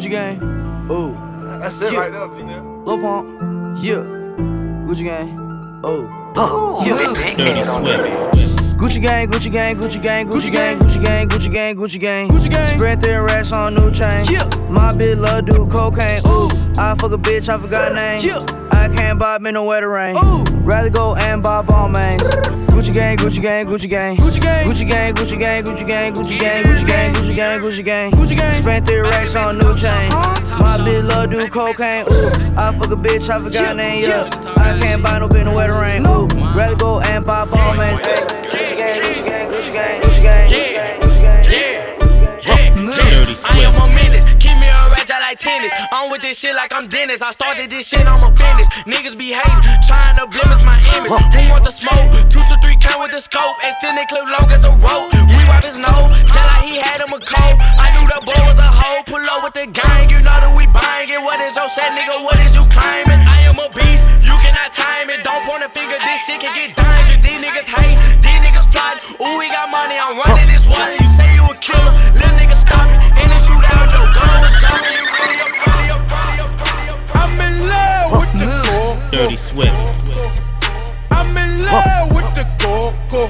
Gucci gang, oh. That's it right there, T-Nell. Lil Pump, yeah. Gucci gang, oh. Dirty Swift. Gucci gang, Gucci gang, Gucci gang, Gucci gang, Gucci gang, Gucci gang, Gucci gang, Gucci gang. Spread thin racks on new chain. My bitch love do cocaine. Ooh, I fuck a bitch, I forgot name. I can't buy me no wetter rain. Rather go and buy ball mains. Gucci gang, Gucci gang, Gucci gang, Gucci gang, Gucci gang, Gucci gang, Gucci gang, Gucci gang, Gucci gang, Gucci gang, Gucci gang, Gucci gang. Spent 3 racks on new chain. My bitch love do cocaine. Ooh, I fuck a bitch, I forgot name. Yeah, I can't buy no bitch no wetter rain. Ooh, rather go and buy ball mains. Gucci gang, Gucci gang, Gucci gang, Gucci gang, Gucci gang, Gucci gang. Dirty Swift. I am a menace, keep me a ratchet like tennis. I'm with this shit like I'm Dennis. I started this shit, I'm a business. Niggas be hating, trying to blemish my image. Who want the smoke? 2 to 3 count with the scope. Extended clip long as a rope. We wipe his nose, just like he had him a cold. I knew the boy was a hoe. Pull up with the gang, you know that we buying it. What is your set, nigga? What is you claiming? I am a beast, you cannot time it. Don't point a finger, this shit can get dangerous. These niggas hate, these niggas plotting. Ooh, we got money, I'm running this water. You say you a killer, little nigga stop it. In the shootout, your gun was dropping. You really up, really up, really up, really up. I'm in love with the coco. Dirty Swift. I'm in love with the coco.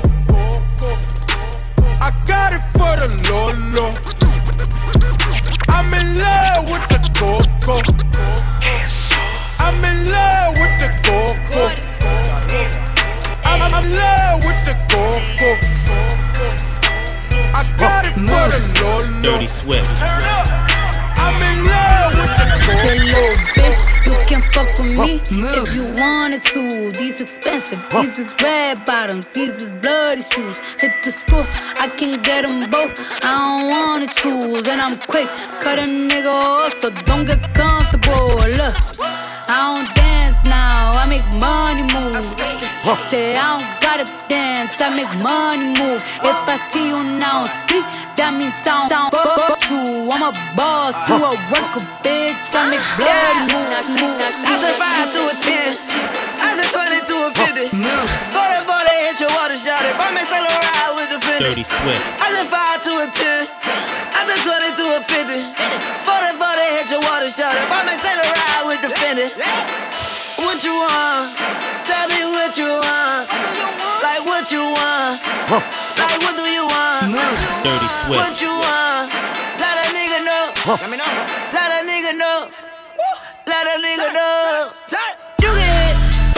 I got it for the Lolo. I'm in love with the coco. I'm in love with the coco. I'm in love with the coco. I got it for the Lolo. Dirty Swift. I'm in love with the coco. That little bitch, you can fuck with me if you wanted to. These expensive, these is red bottoms, these is bloody shoes. Hit the school, I can get them both. I don't wanna choose, and I'm quick, cut a nigga off, so don't get comfortable. Look, I don't dance now, I make money move. Say I don't gotta dance, I make money move. If I see you now speak, that means I don't fuck you. I'm a boss, you a worker, bitch. I make bloody moves. I said 5 to a 10. I said 20 to a 50. 40 hit your water shot it. Buy me sail ride with the Fendi. Dirty Swift. I said 5 to a 10. I said 20 to a 50. 40 hit your water shot it. Buy me sail ride with the Fendi. What you want? Tell me what you want. Like what you want. Like what do you want? Dirty Swift. What you want? Let a nigga know. Let me know. Let a nigga know. Let a nigga know. You get hit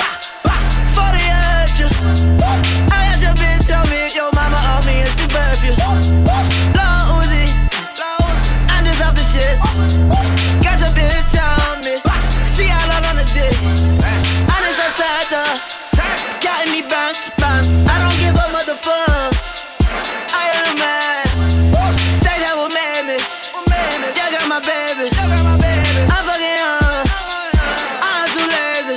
40 at you. I got your bitch on me. Your mama off me and she birth you. Lil Uzi, I'm just off the shit. Got your bitch on me. She all on the dick. I'm just so tired up. Got me bounce. I don't give a motherfuck. I am the man. Stay there with me. You got my baby. I'm fucking her. I'm too lazy.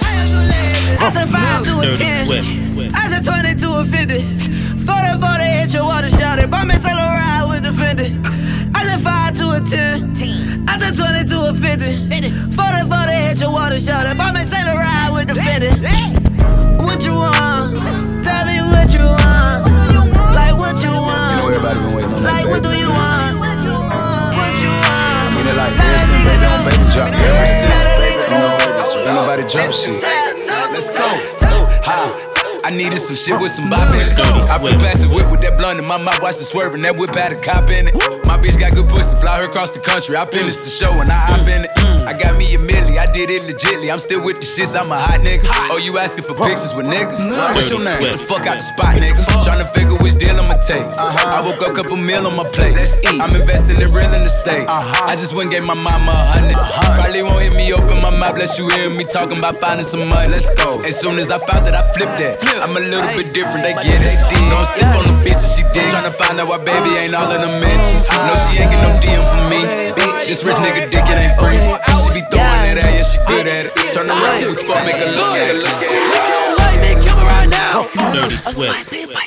I said 5 to a 10. I said 20 to a 50. 40 hit your water shot it. Buy me sail ride with the Fendi. I said 5 to a 10. I said 20 to a 50. 40 hit your water shot it. Buy me sail ride with the Fendi. What you want? Tell me what you want. Like what you want. You know everybody been waiting on that, like baby. what do you want? What you want? I mean it like this and baby on baby drop ever since, baby. You know, ain't nobody jump shit. Let's go. Ha. I needed some shit with some bop in it. I flew past the whip with that blunt in my mouth, watched it swerving. That whip had a cop in it. My bitch got good pussy, fly her across the country. I finished the show and I hop in it. I got me a milli, I did it legitly. I'm still with the shits, I'm a hot nigga. Oh, you asking for pictures with niggas? What's your name? Get the fuck out the spot, nigga. Tryna figure which deal I'ma take. I woke up, couple meal on my plate. Let's eat. I'm investing in real estate. I just went and gave my mama 100. Probably won't hear me open my mouth, bless you hear me talking about finding some money. Let's go. As soon as I found that, I flipped that. I'm a little bit different, they get it. Don't slip on the bitch and she dig. Tryna find out why baby ain't all in the mentions. No, she ain't get no DM from me. This rich nigga dick, it ain't free. She be throwing that at, yeah, she good at it. Turn around, we fuck, make her look at it. White man, kill me right now. Dirty Swift.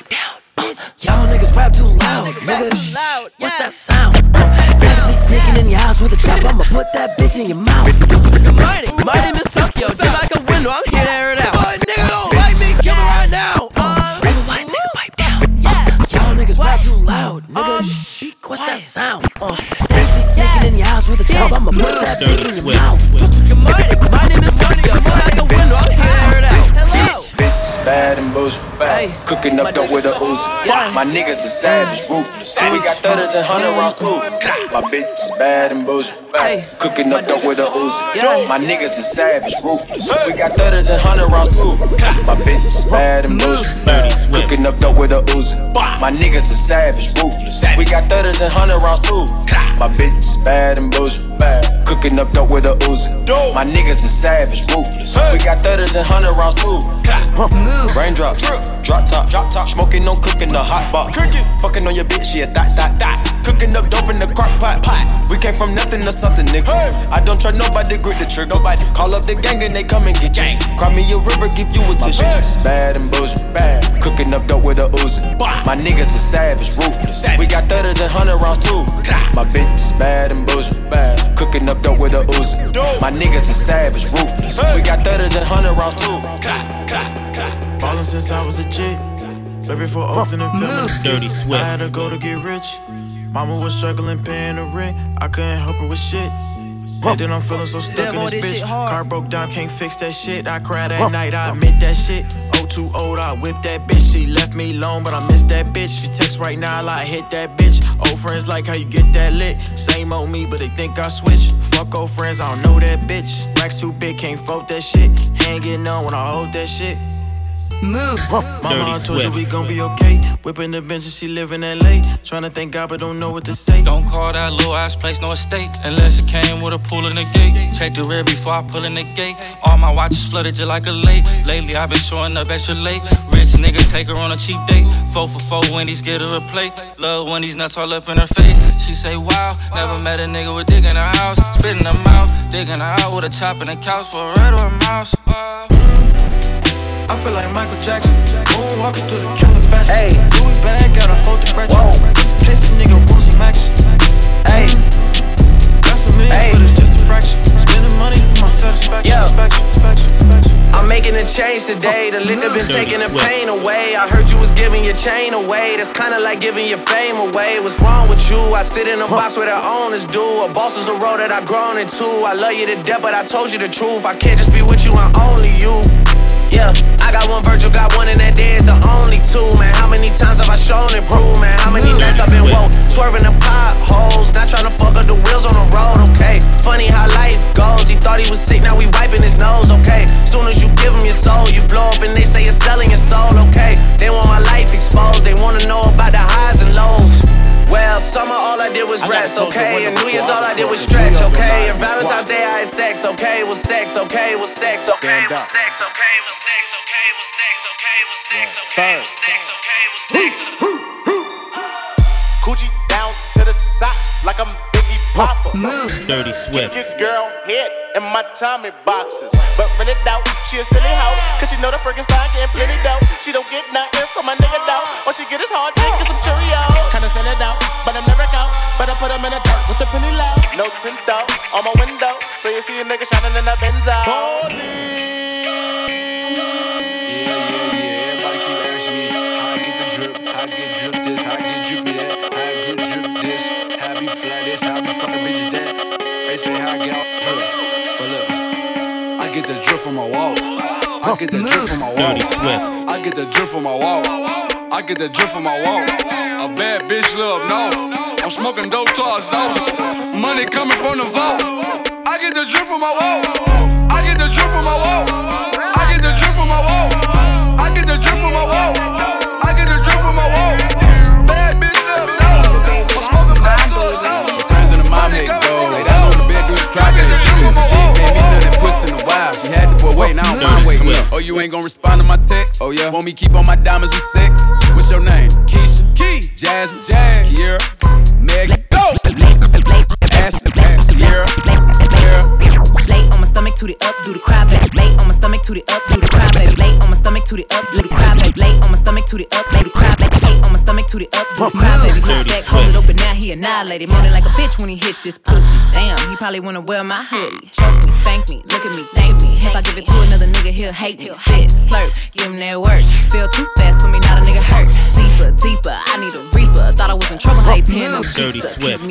Y'all niggas rap too loud, nigga. What's that sound? That's me sneaking in your house with a trap. I'ma put that bitch in your mouth. Good morning, my name is Tokyo. Just like a window, I'm here to air it out. Boy, nigga, don't bite me, kill me right now. Wise nigga, pipe down. Y'all niggas rap too loud, nigga. What's that sound? That's me sneaking in your house bounce with a dub. I'ma put that bitch in your mouth. Good morning, my name is Tony. I'm out the window, I'm here out. Hello. Bitch, bad and bullshit, bad. Cooking up dope with a Uzi. My niggas are savage, ruthless. We got 30s and 100 rounds too. My bitch is bad and bullshit, bad. Cooking up dope with a Uzi. My niggas are savage, ruthless. We got 30s and 100 rounds too. My bitch is bad and bullshit, bad. Cooking up dope with a Uzi. My niggas are savage, ruthless. We got 30s and 100 rounds too. My bitch is bad and bullshit, bad. Cooking up dope with a Uzi. My niggas are savage, ruthless. We got 30s and 100 rounds too. Raindrops, drop top, smoking, no cooking the hot box. Fucking on your bitch, yeah, that. Cooking up dope in the crock pot. We came from nothing to something, nigga. I don't try nobody, grip the trigger. Nobody call up the gang and they come and get gang. Cry me a river, give you a tissue. My bitch is bad and bullshit, bad. Cooking up dope with a Uzi. My niggas are savage, ruthless. We got 30s and 100 rounds too. My bitch is bad and bullshit, bad. Cooking up dope with a Uzi. My niggas are savage, ruthless. We got 30s and 100 rounds too. Ballin' since I was a jit. Baby for Oakland and filming Dirty Swift. I had to go to get rich. Mama was struggling paying the rent. I couldn't help her with shit. And then I'm feeling so stuck in this bitch. Car broke down, can't fix that shit. I cried at night, I admit that shit. Oh, too old, I whipped that bitch. She left me alone, but I miss that bitch. She text right now, like hit that bitch. Old friends like how you get that lit. Same old me, but they think I switched. Fuck old friends, I don't know that bitch. Racks too big, can't fold that shit. Hanging on when I hold that shit. Move. Mama, I told you we gon' be okay. Whipping the bench and she live in LA. Tryna thank God but don't know what to say. Don't call that little ass place no estate, unless it came with a pool in the gate. Check the rear before I pull in the gate. All my watches flooded just like a lake. Lately I've been showing up extra late. Rich nigga take her on a cheap date. 4 for 4 Wendy's, get her a plate. Love when these nuts all up in her face. She say wow, never met a nigga with dick in her house. Spitting her mouth, digging her out with a chop in the couch for a red or a mouse. I feel like Michael Jackson. Moonwalking through the Calabasas. Hey, Louis bag, gotta hold the breath. Chase a nigga, want some action. Hey, got some millions, but it's just a fraction. Spending money for my satisfaction. I'm making a change today. The liquor been taking the pain away. I heard you was giving your chain away. That's kinda like giving your fame away. What's wrong with you? I sit in a box where the owners do. A boss is a role that I've grown into. I love you to death, but I told you the truth. I can't just be with you, I'm only you. Yeah, I got one Virgil, got one, and that day is the only two, man. How many times have I shown and proved, man? How many nights I've been woke, swerving the potholes, not trying to fuck up the wheels on the road, okay? Funny how life goes, he thought he was sick, now we wiping his nose, okay? Soon as you give him your soul, you blow up and they say you're selling your soul, okay? They want my life exposed, they wanna know about the highs and lows. Well, summer all I did was rest, okay? And New Year's all I did was stretch, okay? And Valentine's Day I had sex, okay? Was sex, okay? Was sex, okay? Was sex, okay? Was sex, okay? Was sex, okay? Was sex, okay? Was sex, okay? Was sex. Coochie down to the socks like I'm Biggie Papa. Dirty Swift. Kick your girl head in my Tommy boxes, but rent it out. She a silly hoe, cause she know the friggin' style getting plenty dough. She don't get nothing from my nigga though. All she get is hard dick and some Cheerios. Kinda send it out, but I'm never out. But I put them in the dirt with the penny low. No tint out on my window, so you see a nigga shining in that Benzo. Everybody keep asking me how I get the drip, how I get drip this, how I get drippy that, how I get drip this, how I be fly this, how I be fucking bitches that. They say how I get out drip, but look, I get the drip from my wall. I get the drip from my wall. Dirty Swift. I get the drip from my wall. I get the drip from my wall. A bad bitch live up north. I'm smoking dope to our sauce. Money coming from the vault. I get the drip from my wall. I get the drip from my wall. I get the drip from my wall. I get the drip from my wall. I get the drip from my wall. Bad bitch live up north. I'm smoking dope to our sauce. Friends in the mom make gold. Lay down on the bed, do the crack. She gave me none that puss in the wild. She had the boy waiting, I don't mind waiting. Oh, you ain't gon' respond to my text? Oh yeah. Want me keep on my diamonds with sex? What's your name? Keisha, Key, Jasmine, Kiera, Megan, go. Ashley, Sierra, Lay on my stomach, toot it up, do the cry, baby. Lay on my stomach, toot it up, do the cry, baby. Lay on my stomach, toot it up, do the cry, baby. Lay on my stomach, toot it up, do the cry, baby. Lay on my stomach, toot it up, do the cry, baby. Look back, hold it open, now he annihilated. Moaning like a bitch when he hit this pussy. Damn, he probably wanna wear my hoodie. Choke me, spank me, look at me, thank me. If I give it to another nigga, he'll hate me. Spit, slurp, give him that work. Feel too fast for me, not a nigga hurt. Deeper, deeper, I need a reaper. Thought I was in trouble, hey, 10 no Dirty pizza. Swift. Kept me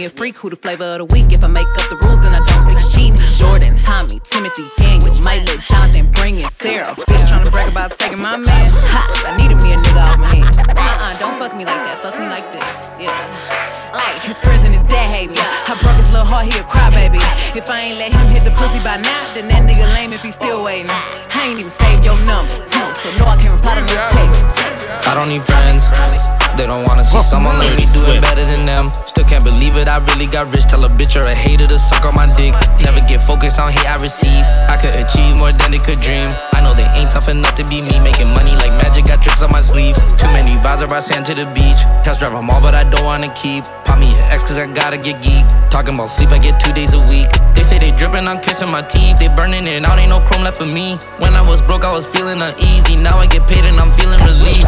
me a freak, who the flavor of the week. If I make up the rules, then I don't think it's cheating. Jordan, Tommy, Timothy, Daniel, might let Jonathan bring in Sarah. Fish tryna brag about taking my man. Ha! I needed me a nigga off my hands. Don't fuck me like that. Fuck me like this. Yeah. Ay, his friends and his dad hate me. I broke his little heart, he a crybaby. If I ain't let him hit the pussy by now, then that nigga lame if he still waiting. I ain't even saved your number, so no, I can't reply to no text. I don't need friends. They don't wanna see someone like me do it better than them. Still can't believe it, I really got rich. Tell a bitch or a hater to suck on my dick. Never get focused on hate I receive. I could achieve more than they could dream. I know they ain't tough enough to be me. Making money like magic, got tricks on my sleeve. Too many vibes, I brought sand to the beach. Test drive them all, but I don't wanna keep. Pop me an X cause I gotta get geek. Talking about sleep, I get 2 days a week. They say they dripping, I'm kissing my teeth. They burning it out, ain't no chrome left for me. When I was broke, I was feeling uneasy. Now I get paid and I'm feeling relieved.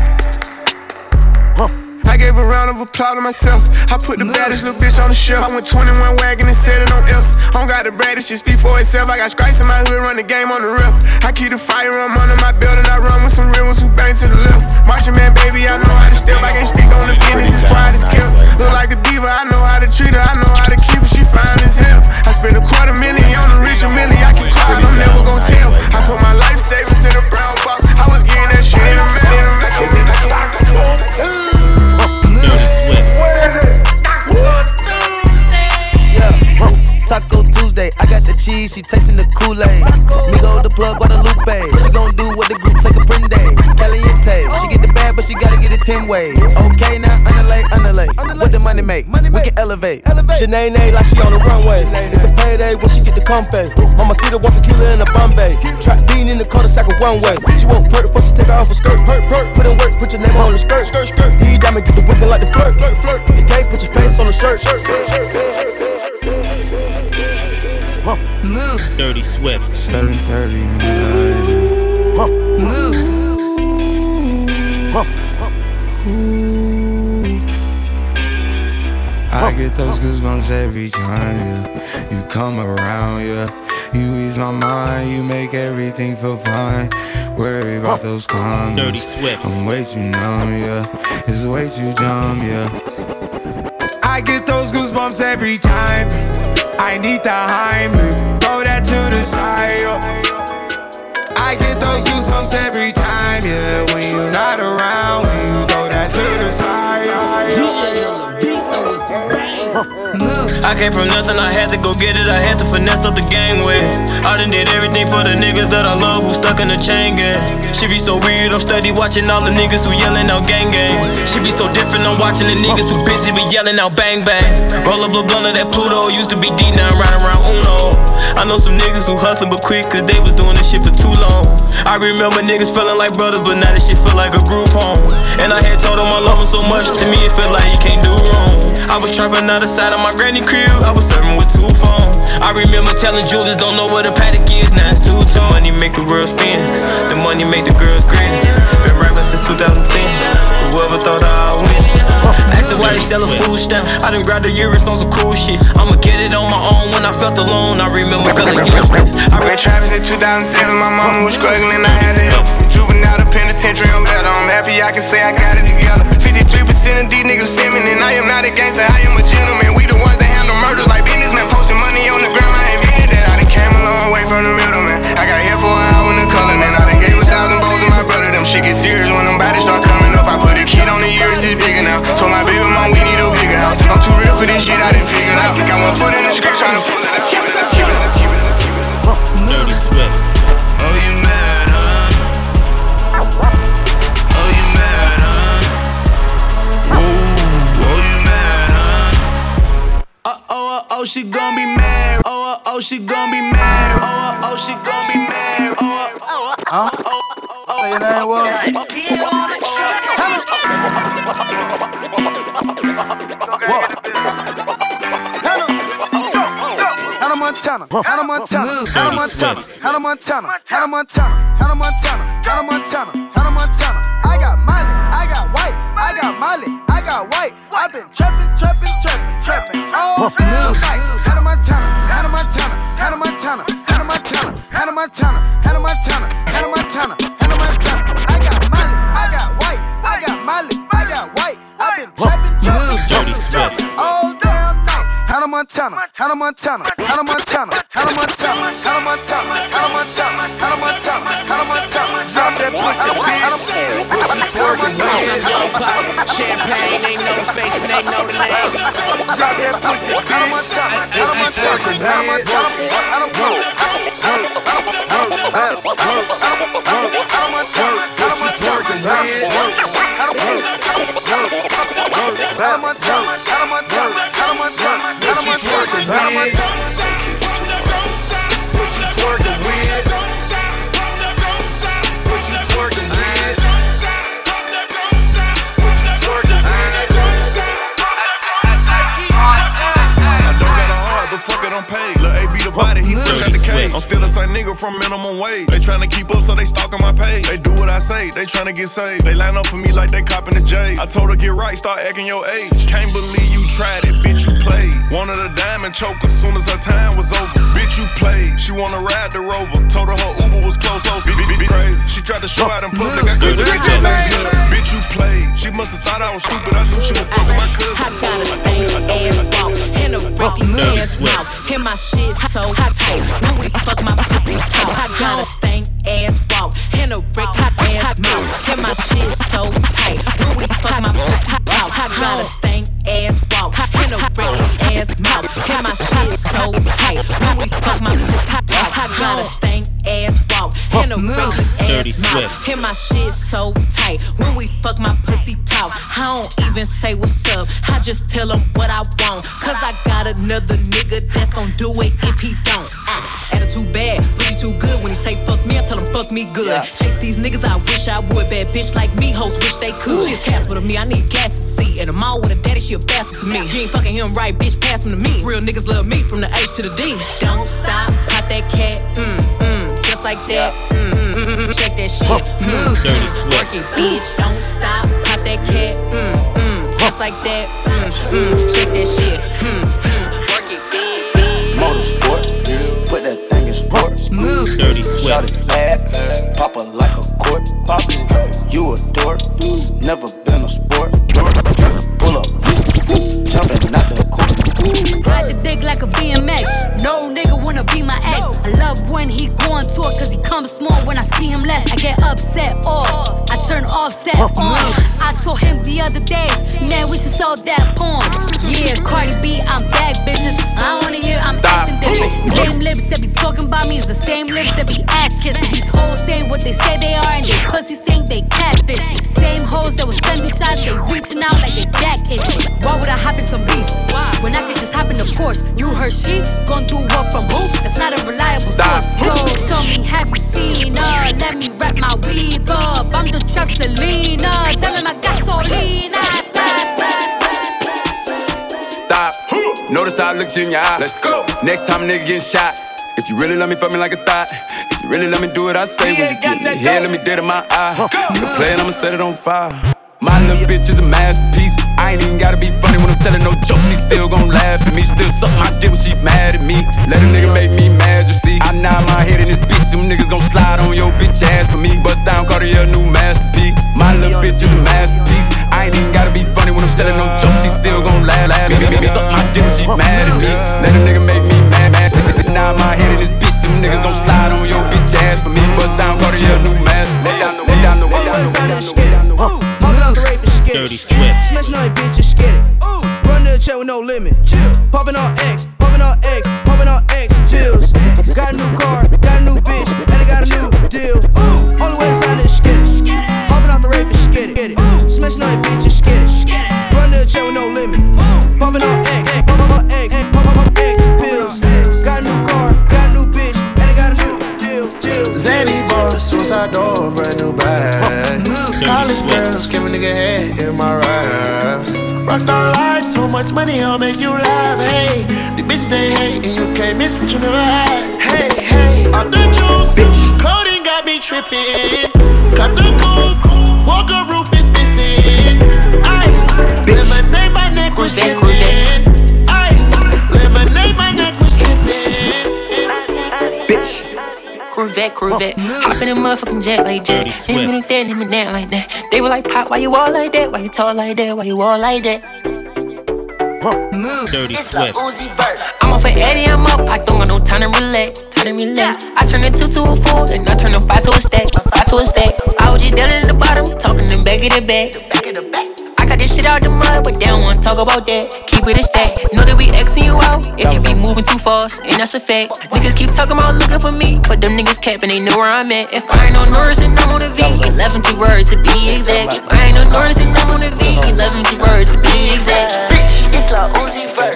I gave a round of applause to myself. I put the baddest little bitch on the shelf. I went 21 wagon and set it on else. I don't got the bread, this shit speak for itself. I got stripes in my hood, run the game on the rip. I keep the firearm under my belt and I run with some real ones who bang to the left. Marching man, baby, I know how to step. I can't speak on the business, as quiet as kept. Look like a diva, I know how to treat her. I know how to keep her, she fine as hell. I spent $250,000 on the rich and Millie. I can cry, I'm never gon' tell. I put my life savings in a brown box. I was getting that shit in a minute. Taco Tuesday, I got the cheese, she tasting the Kool-Aid. Migo the plug, Guadalupe. She gon' do what the group take a print day. Caliente, she get the bag, but she gotta get it 10 ways. Okay, now underlay. What the money make? We can elevate. Sinead like she on the runway. It's a payday when she get the comfy. Mama see the 1 tequila in a Bombay. Trap bean in the cul-de-sac of one way. She won't perk before she take off her skirt. Put in work, put your name on the skirt. D-diamond, get the whipping like the flirt. The K, put your face on the shirt. Move. Dirty Swift. 7:30. Move. I get those goosebumps every time, yeah. You come around, yeah. You ease my mind, you make everything feel fine. Worry about those comments. Dirty Swift. I'm way too numb, yeah. It's way too dumb, yeah. I get those goosebumps every time. I need the Heimlich, throw that to the side, yo. I get those goosebumps every time, yeah. When you're not around, when you throw that to the side, yo. I came from nothing, I had to go get it. I had to finesse up the gangway. I done did everything for the niggas that I love who stuck in the chain gang. She be so weird, I'm steady watching all the niggas who yelling out gang gang. She be so different, I'm watching the niggas who busy be yelling out bang bang. Roll up a blunt of that Pluto, used to be D, now I'm riding around Uno. I know some niggas who hustling but quick cause they was doing this shit for too long. I remember niggas feeling like brothers, but now this shit feel like a group home. And I had told them I love them so much, to me it felt like you can't do wrong. I was trapping out the side of my granny crib, I was serving with 2 phones. I remember telling Julius, don't know what a paddock is, now it's 2 tone. Money make the world spin, the money make the girls grin. Been rapping since 2010, whoever thought I'd win. Asking why they sellin' food stamp, I done grabbed the Euros on some cool shit. I'ma get it on my own when I felt alone, I remember feeling useless. I ran Travis in 2007, my mama was struggling, I had to help. From juvenile to penitentiary, I'm better, I'm happy I can say I got it together. 53% of these niggas feminine, I am not a gangster, I am a gentleman. We the ones that handle murders like businessmen, posting money on the ground, I invented that. I done came a long way from the middleman. I got here for an hour in the color, then I done gave 1,000 bowls to my brother. Them shit get serious when them bodies start coming up. I put a kid on the years, it's bigger now. Told my baby mom we need a bigger house. I'm too real for this shit, I didn't figure it out. Got 1 foot in the script, trying to pull it out. Keep it up. Dirty Swift. Oh, you mad, huh? Oh, you mad, huh? Oh, you mad, huh? Oh, she gon' be mad. Oh, she gon' be mad. Oh, she gon' be mad. Say your name, what? Hannah Montana, Hannah Montana, Hannah Montana, Hannah Montana, Hannah Montana, Hannah Montana, Hannah Montana, Hannah Montana. I got Miley, I got white, I got Miley, I got white. I've been trapping all damn night. Hannah Montana, Hannah Montana, Hannah Montana, Hannah Montana, Hannah Montana, Hannah Montana, Hannah Montana, Hannah Montana. I got Miley, I got white, I got Miley, I got white. I've been trapping all damn night. Montana, Hannah Montana, Hannah Montana, Hannah Montana, Hannah Montana, Hannah Montana, Hannah Montana, Hannah Montana. Drop that pussy, bitch. Champagne, they know the face and they know the name. Drop that pussy, bitch. Hannah Montana, Hannah Montana, Hannah Montana, Hannah I'm paid. Lil' A be the body, he fresh out the cage. I'm still the same nigga from minimum wage. They tryna keep up, so they stalk on my page. They do what I say, they tryna get saved. They line up for me like they copping the J. I told her get right, start acting your age. Can't believe you tried it, bitch, you played. Wanted a diamond choker, soon as her time was over. Bitch, you played. She wanna ride the Rover. Told her Uber was close, so bitch crazy. She tried to show out in public, I couldn't get your name. Bitch, you played. She must've thought I was stupid, I knew she was fucking my cousin. I got a stank ass walk and a reckless ass mouth. And my shit so tight when we fuck my pussy talk. I got a stank ass walk and a reckless ass mouth. And my shit so tight when we fuck my pussy talk. I got a stank ass walk and a reckless ass mouth. And my shit so tight when we fuck my pussy talk. I got a stank ass walk and a reckless ass mouth. And my shit so tight when we fuck my pussy talk. I don't even say what's up, I just tell him what I want. Cause I got another nigga that's gon' do it if he don't. Attitude bad, but he too good. When he say fuck me, I tell him fuck me good. Chase these niggas, I wish I would. Bad bitch like me, hoes wish they could. She a Casper to me, I need gas to see. And I'm all with a daddy, she a bastard to me. You ain't fucking him right, bitch, pass him to me. Real niggas love me from the H to the D. Don't stop, pop that cat, just like that, shake that shit, Dirty Swift. Work it, bitch, don't stop, pop that cat, just like that, shake that shit, work it, bitch. Motorsport, put that thing in sports. Dirty Swift. Shot it bad, pop her like a court. You a dork, never been a sport. Pull up, jumping out the court. Ride the dick like a BMX. No nigga wanna be my ex. I love when he go on tour, cause he comes small when I see him less. I get upset off, I turn offset on. I told him the other day, man, we should sell that porn. Yeah, Cardi B, I'm back, bitches. I don't wanna hear I'm acting different. The same lips that be talking about me is the same lips that be ass kissing. These hoes saying what they say they are and they pussies think they catfish. Same hoes that was sending shots, they reaching out like they back itching. Why would I hop in some beef? When I could just hop in the Porsche. You heard she gon' do what from who? That's not a reliable source. So tell me, have you seen her? Let me wrap my weave up. I'm the trap Selena. Dame my gasolina. Stop. Notice how I looked you in your eye. Let's go. Next time a nigga getting shot. If you really love me, fuck me like a thought. If you really let me do what I say, when you get me here, let me dead in my eye. The plan, I'ma set it on fire. My little bitch is a masterpiece. I ain't even gotta be funny when I'm telling no jokes. She still gon' laugh at me. Still suck my dick when she mad at me. Let a nigga make me mad, you see. I nod my head in this bitch. Them niggas gon' slide on your bitch ass for me. Bust down, Cartier, new masterpiece. My little bitch is a masterpiece. I ain't even gotta be funny when I'm telling no jokes. She still gon' laugh at me. Suck my dick when she mad at me. Let a nigga make me mad. Nod my head in this bitch. Them niggas gon' slide on your bitch ass for me. Bust down, Cartier, new masterpiece. Dirty Swift. Smashing on that bitch, just get it. Run to the check with no limit. Popping on X, popping on X, popping on X. Chills. Got a new car, got a new bitch, and I got a new deal. Only way to sign is get it. Popping out the rave and get it. Smashing on that bitch, just get it. Run to the check with no limit. Popping on X, popping on X, popping on X. Pills. Got a new car, got a new bitch, and I got a new deal. Zany boss, suicide door, brand new bag. College girls, give a nigga head in my raps. Rockstar life, so much money, I'll make you laugh. Hey, the bitch they hate, and you can't miss what you never had. Hey, hey, off the juice, bitch. Coding got me tripping. Got the coupe, Walker roof is missing. Ice, lemonade, my neck was tripping. Ice, lemonade, my neck was tripping. Bitch. Corvette, hop in a motherfucking jet like jet. Hit me like that, hit me down like that. They were like, Pop, why you all like that? Why you talk like that? Why you all like that? Dirty Swift. I'm off at 80, I'm up. I don't got no time to relax. I turn a 2 to a 4, and I turn a 5 to a stack. I was just down in the bottom, talking them back of the back. I got this shit out the mud, but they don't wanna talk about that. Keep it a stack. Know that we Xing you out if you be moving too fast, and that's a fact. Niggas keep talking about looking for me, but them niggas capping, they know where I'm at. If I ain't on Norris, then I'm on the V. 11 to word to be exact. If I ain't on Norris, then I'm on the V. 11 to word to be exact. Bitch, it's like Uzi Vert,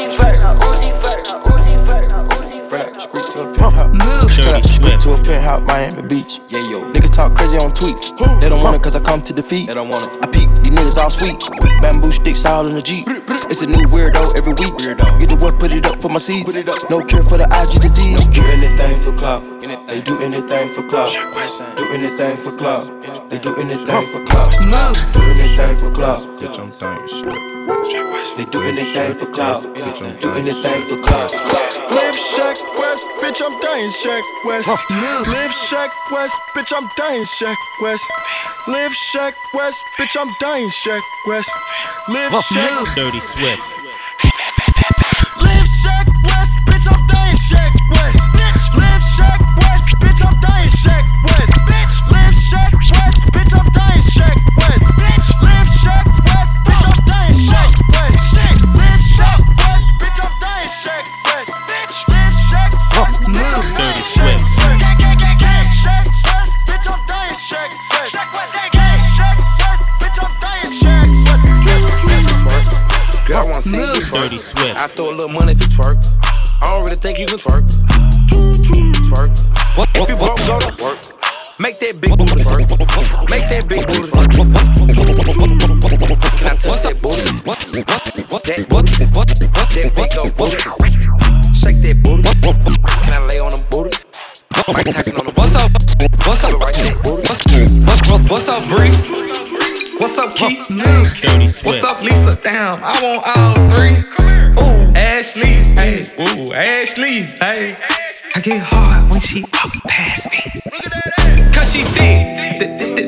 Dirty Swift. To a penthouse, Miami Beach. Yeah, yo. Niggas talk crazy on tweets. They don't want it cause I come to defeat. They don't want it. I peep, these niggas all sweet. Bamboo sticks all in the Jeep. It's a new weirdo every week. Get the one, put it up for my seeds. No cure for the IG disease. Do anything for clout. They do anything for clout. Do anything for clout. They do anything for clout. Do anything for clout. Bitch, I'm dying shit. They do anything for clout. Do anything for clout. Live Shack West, bitch, I'm dying Shack West. Live Shack West, bitch, I'm dying Shack West. Live Shack West, bitch, I'm dying Shack West. Live Shack. Dirty Swift. Live Shack West, bitch, I'm dying Shack West. Live Shack West, bitch, I'm dying Shack West. Live Shack West, bitch, I'm dying Shack West. Live Shack West, bitch, I'm dying Shack West. Live Shack West, bitch, I'm dying Shack West. Live Shack West, bitch, I'm Dirty Swift. Shack West, bitch, I'm dying Shack West. Shack West, bitch, I'm dying Shack West. Girl, I wanna see you twerk. Dirty Swift. I throw a little money if you twerk. I don't really think you can twerk. Twerk. If you broke, go to work. Make that big booty twerk. Make that big booty twerk. Can I touch that booty? That big old booty. Shake that booty. Can I lay on them booty? Right tapping on the What's up? What's up? right there, booty. What's up, Bree? What's up, Keith? Dirty Swift. What's up, Lisa? Damn, I want all three. Ooh, Ashley, hey. Ooh, Ashley, hey. I get hard when she walk past me. Cause she thick.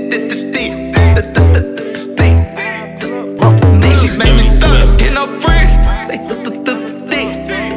She make me stuck in her friends. They thick.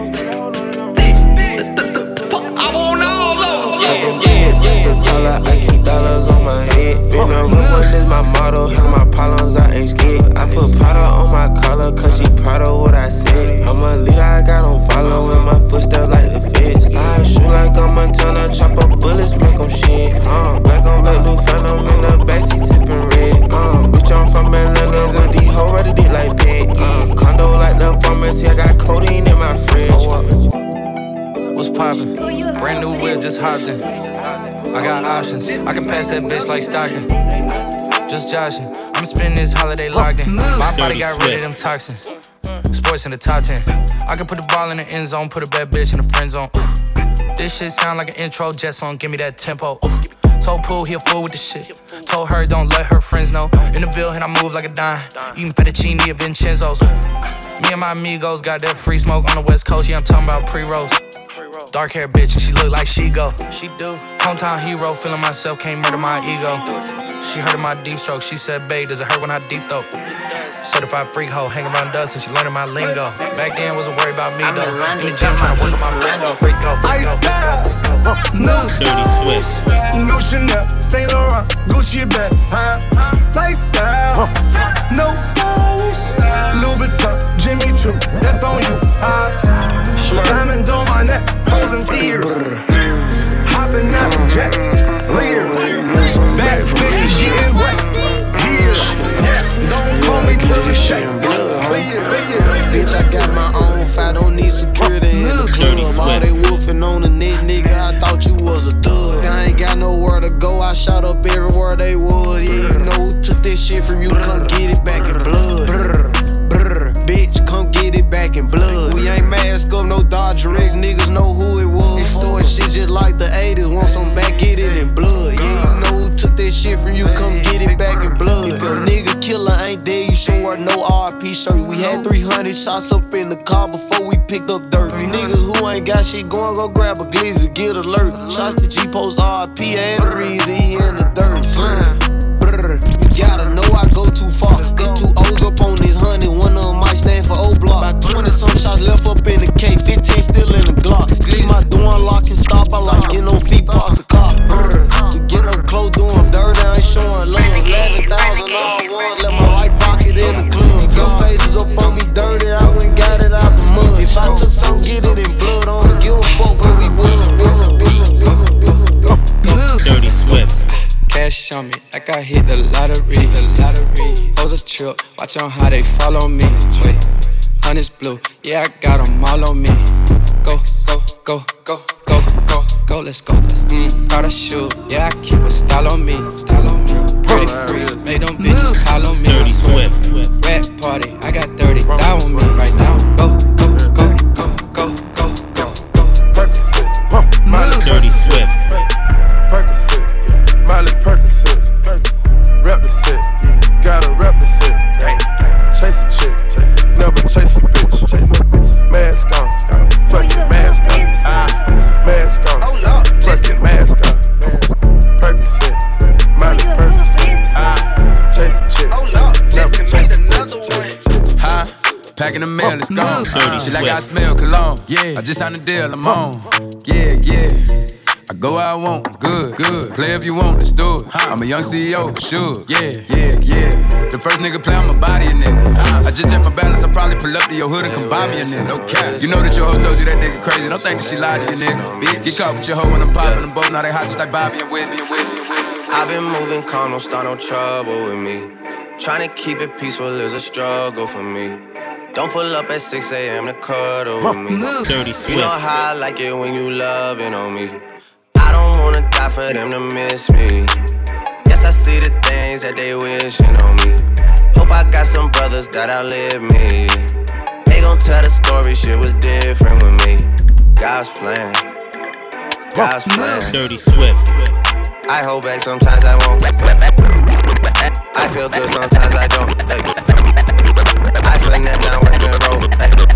Fuck, I want all of them. Yeah. I keep dollars on my head. Been a real is my motto. Handle my problems, I ain't scared. I put powder on my collar, cause she proud of what I said. I'm a leader, I got on follow in my footsteps like the feds. I shoot like a Montana, chop up bullets, make them shit. Black on black, new phantom in the backseat sipping red. Bitch, I'm from Atlanta, got these hoes ready to like Peggy. Condo like the pharmacy, I got codeine in my fridge. What's poppin'? Brand new whip, just hopped in. I got options. I can pass that bitch like Stockton. Just joshing. I'm spending this holiday locked in. My body got rid of them toxins. Sports in the top 10. I can put the ball in the end zone, put a bad bitch in the friend zone. This shit sound like an intro jet song. Give me that tempo. Told Pooh he a fool with the shit. Told her don't let her friends know. In the Ville and I move like a dime. Eating fettuccine at Vincenzo's. Me and my amigos got that free smoke on the West Coast. Yeah, I'm talking about pre-rolls. Dark hair bitch and she look like she go. She do. Hometown hero, feeling myself, can't murder my ego. She heard of my deep stroke. She said, babe, does it hurt when I deep throat? Certified freak hoe, hang around dust and she learning my lingo. Back then wasn't worried about me though. In the gym trying to work on my lingo. Freak go. Dirty Swift. New Chanel, Saint Laurent, Gucci bag, lifestyle, no stylish, Louis Vuitton, Jimmy Choo, that's on you, diamonds on my neck, posing fear, hopping out the jet, leer, bad bitches getting wet, yeah, don't call me till you shake, bitch, I got my own fight, don't need security in the club, all they wolfing on the net, nigga, I thought you was a thug, I ain't got nowhere to go, I shot up everywhere they was, yeah, you know who took this shit from you, come get it back in blood, bitch, come get it back in blood, we ain't mask up, no Dodger X, niggas know who it was, they storing shit just like the 80s, want some back, get it in blood, yeah, you know who took this shit from you, come get it back in blood, if a nigga killer ain't dead, you should wear no RP shirt, we had 300 shots up in the car before we picked up dirt, you niggas who ain't got shit going, go grab a glizzy, get alert, shots to G-Post RP and the reason he in the dirt, you gotta know I go too far, they two O's up on this 100, one of them might stand for O-Block, hoes a trip, watch on how they follow me. Wait, honey's blue, yeah, I got them all on me. Go, go, go, go, go, go, go, let's go. Proud of shoe, yeah, I keep a style on me. Pretty freeze, made them bitches call on me. Dirty Swift. Red party, I got 30 down on me right now. Go, go, go, go, go, go, go, go. Percocet, Dirty Swift. Percocet, Miley Percocet, rep the set, gotta rep the set. Chase a chick, never chase a bitch. Mask on, fucking mask on, mask on, fucking mask on. Percocet, Miley Percocet, chase a chick, never chase a bitch. Huh? Packing the mail, it's gone. She like I smell cologne. Yeah, I just signed a deal, I'm on. Yeah, yeah. I go where I want, good, good. Play if you want, let's do it. I'm a young CEO, sure. Yeah, yeah, yeah. The first nigga play, I'ma body a nigga. I just check my balance, I probably pull up to your hood and come buy me a nigga. No cap. You know that your hoe told you that nigga crazy. Don't think that she lied to you, nigga. Bitch, get caught with your hoe when I'm popping them both. Now they hot just like Bobby and Whitney and Whitney and Whitney. I've been moving calm, don't start no trouble with me. Trying to keep it peaceful is a struggle for me. Don't pull up at 6 a.m. to cuddle with me. Dirty Swift. You know how I like it when you loving on me. I don't wanna die for them to miss me. Yes, I see the things that they wishing on me. Hope I got some brothers that outlive me. They gon' tell the story, shit was different with me. God's plan, God's plan. Dirty Swift. I hold back, sometimes I won't. I feel good, sometimes I don't. I finesse down Western Road.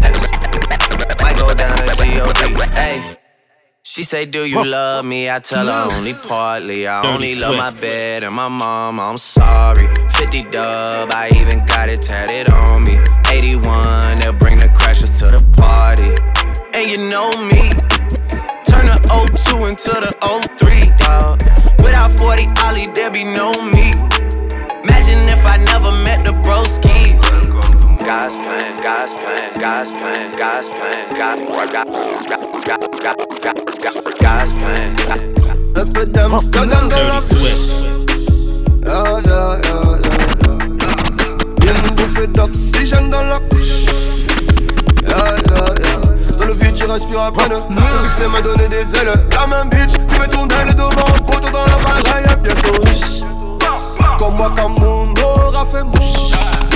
Might go down to G.O.D. Hey. She say, do you love me? I tell her only partly. I only love my bed and my mama, I'm sorry. 50 dub, I even got it tatted on me. 81, they'll bring the crashers to the party. And you know me, turn the 02 into the 03, dawg. Without 40 Ollie, there be no me. Imagine if I never met the broskies. God's plan, God's plan, God's plan, God's plan, God's plan. Dirty Swift. Viens me bouffer d'oxygène dans la couche. Dans le vide, tu respires à peine. Le succès m'a donné des ailes. La même bitch, tu veux tourner le dos en photo dans la bagaille à bientôt. Comme moi, Cameroun aura fait mouche.